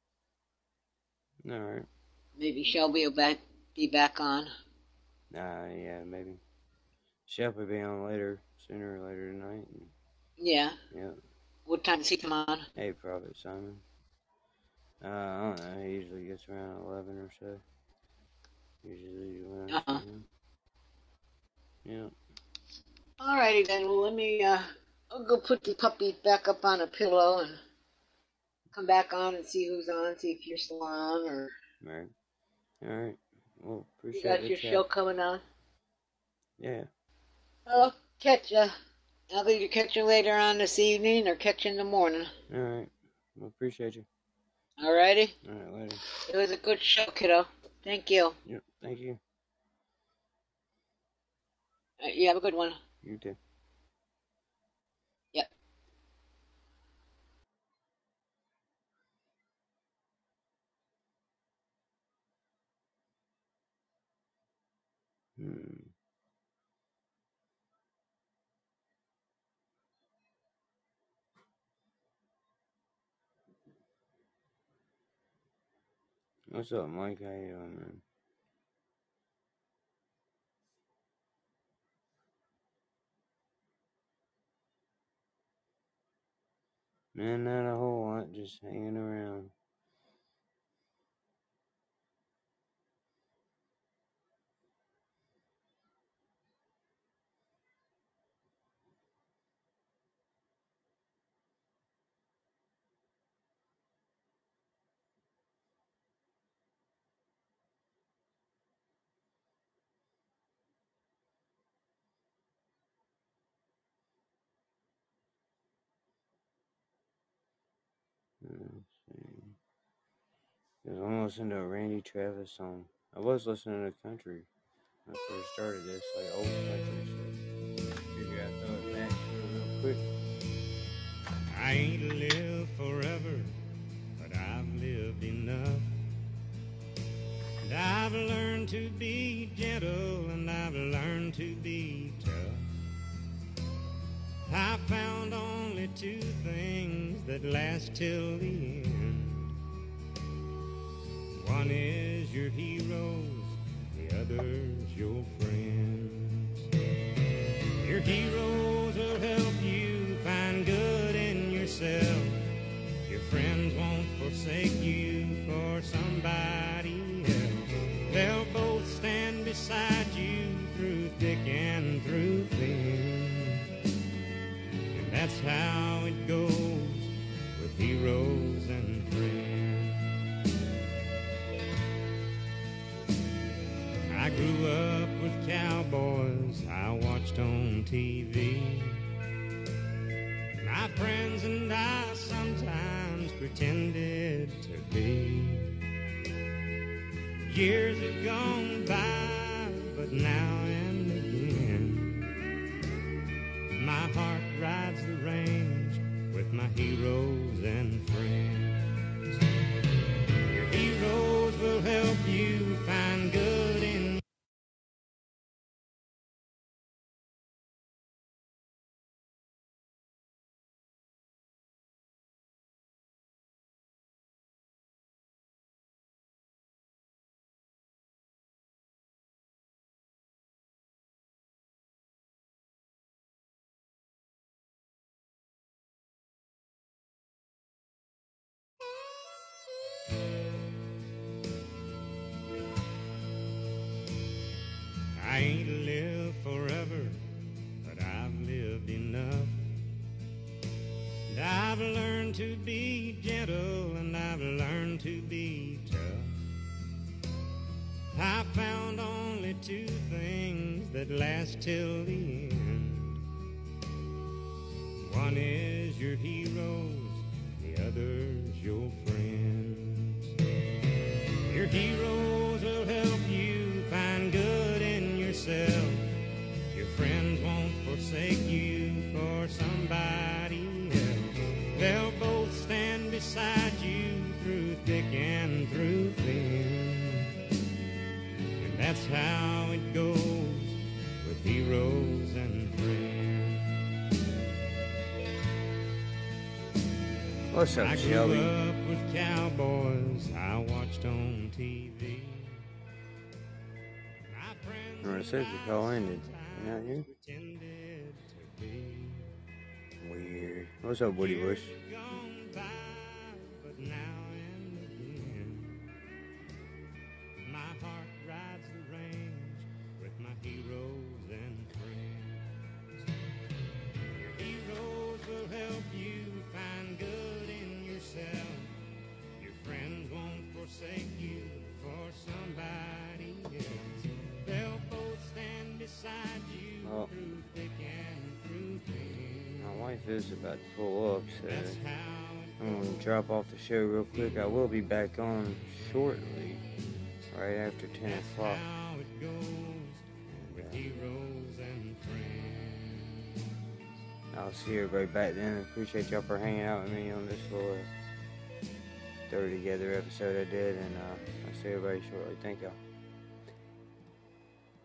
All right. Maybe Shelby will be back on. Yeah, maybe. Shelby will be on sooner or later tonight. Yeah. Yeah. What time does he come on? Hey, Prophet Simon. I don't know. He usually gets around 11 or so. Usually around. Yeah. Alrighty then. Well, let me. I'll go put the puppy back up on a pillow and come back on and see who's on, see if you're still on, or Right. All right. Well, you appreciate got the your chat. show coming on. Yeah. I'll catch you. I'll either catch you later on this evening or catch you in the morning. All right. Well, appreciate you. Alrighty? All right, later. It was a good show, kiddo. Thank you. Yep. Thank you. You have a good one. You too. Yep. What's up, Mike? How you doing, man? Man, not a whole lot. Just hanging around. Let's see. Because I'm listening to a Randy Travis song. I was listening to country when I first started this, like old country shit. Figure I'd throw it back to it real quick. I ain't lived forever, but I've lived enough. And I've learned to be gentle, and I've learned to be tough. I found only two things that last till the end. One is your heroes, the other's your friends. Your heroes will help you find good in yourself. Your friends won't forsake you for somebody else. They'll both stand beside you through thick and through thin. And that's how it goes with heroes and friends. I grew up with cowboys I watched on TV. My friends and I sometimes pretended to be. Years have gone by, but now and again, my heart rides the range with my heroes and friends. Your heroes will help you find good in I ain't lived forever, but I've lived enough. And I've learned to be gentle, and I've learned to be tough. I found only two things that last till the end. One is your heroes, the other's your friends. Your heroes will help you find good in yourself. Your friends won't forsake you for somebody else. They'll both stand beside you through thick and through thin. And that's how it goes with heroes and friends. What's up, I grew Shelby? up with cowboys I watched on TV. My friends Or it says the call ended. You not here? pretended to be. Weird. What's up, Woody Bush? Gone by, but now and again, my heart rides the range with my heroes and friends. Your heroes will help you find good in yourself. is about to pull up, so I'm going to drop off the show real quick. I will be back on shortly, right after 10 o'clock. I'll see everybody back then. Appreciate y'all for hanging out with me on this little throw together episode I did, and I'll see everybody shortly. Thank y'all.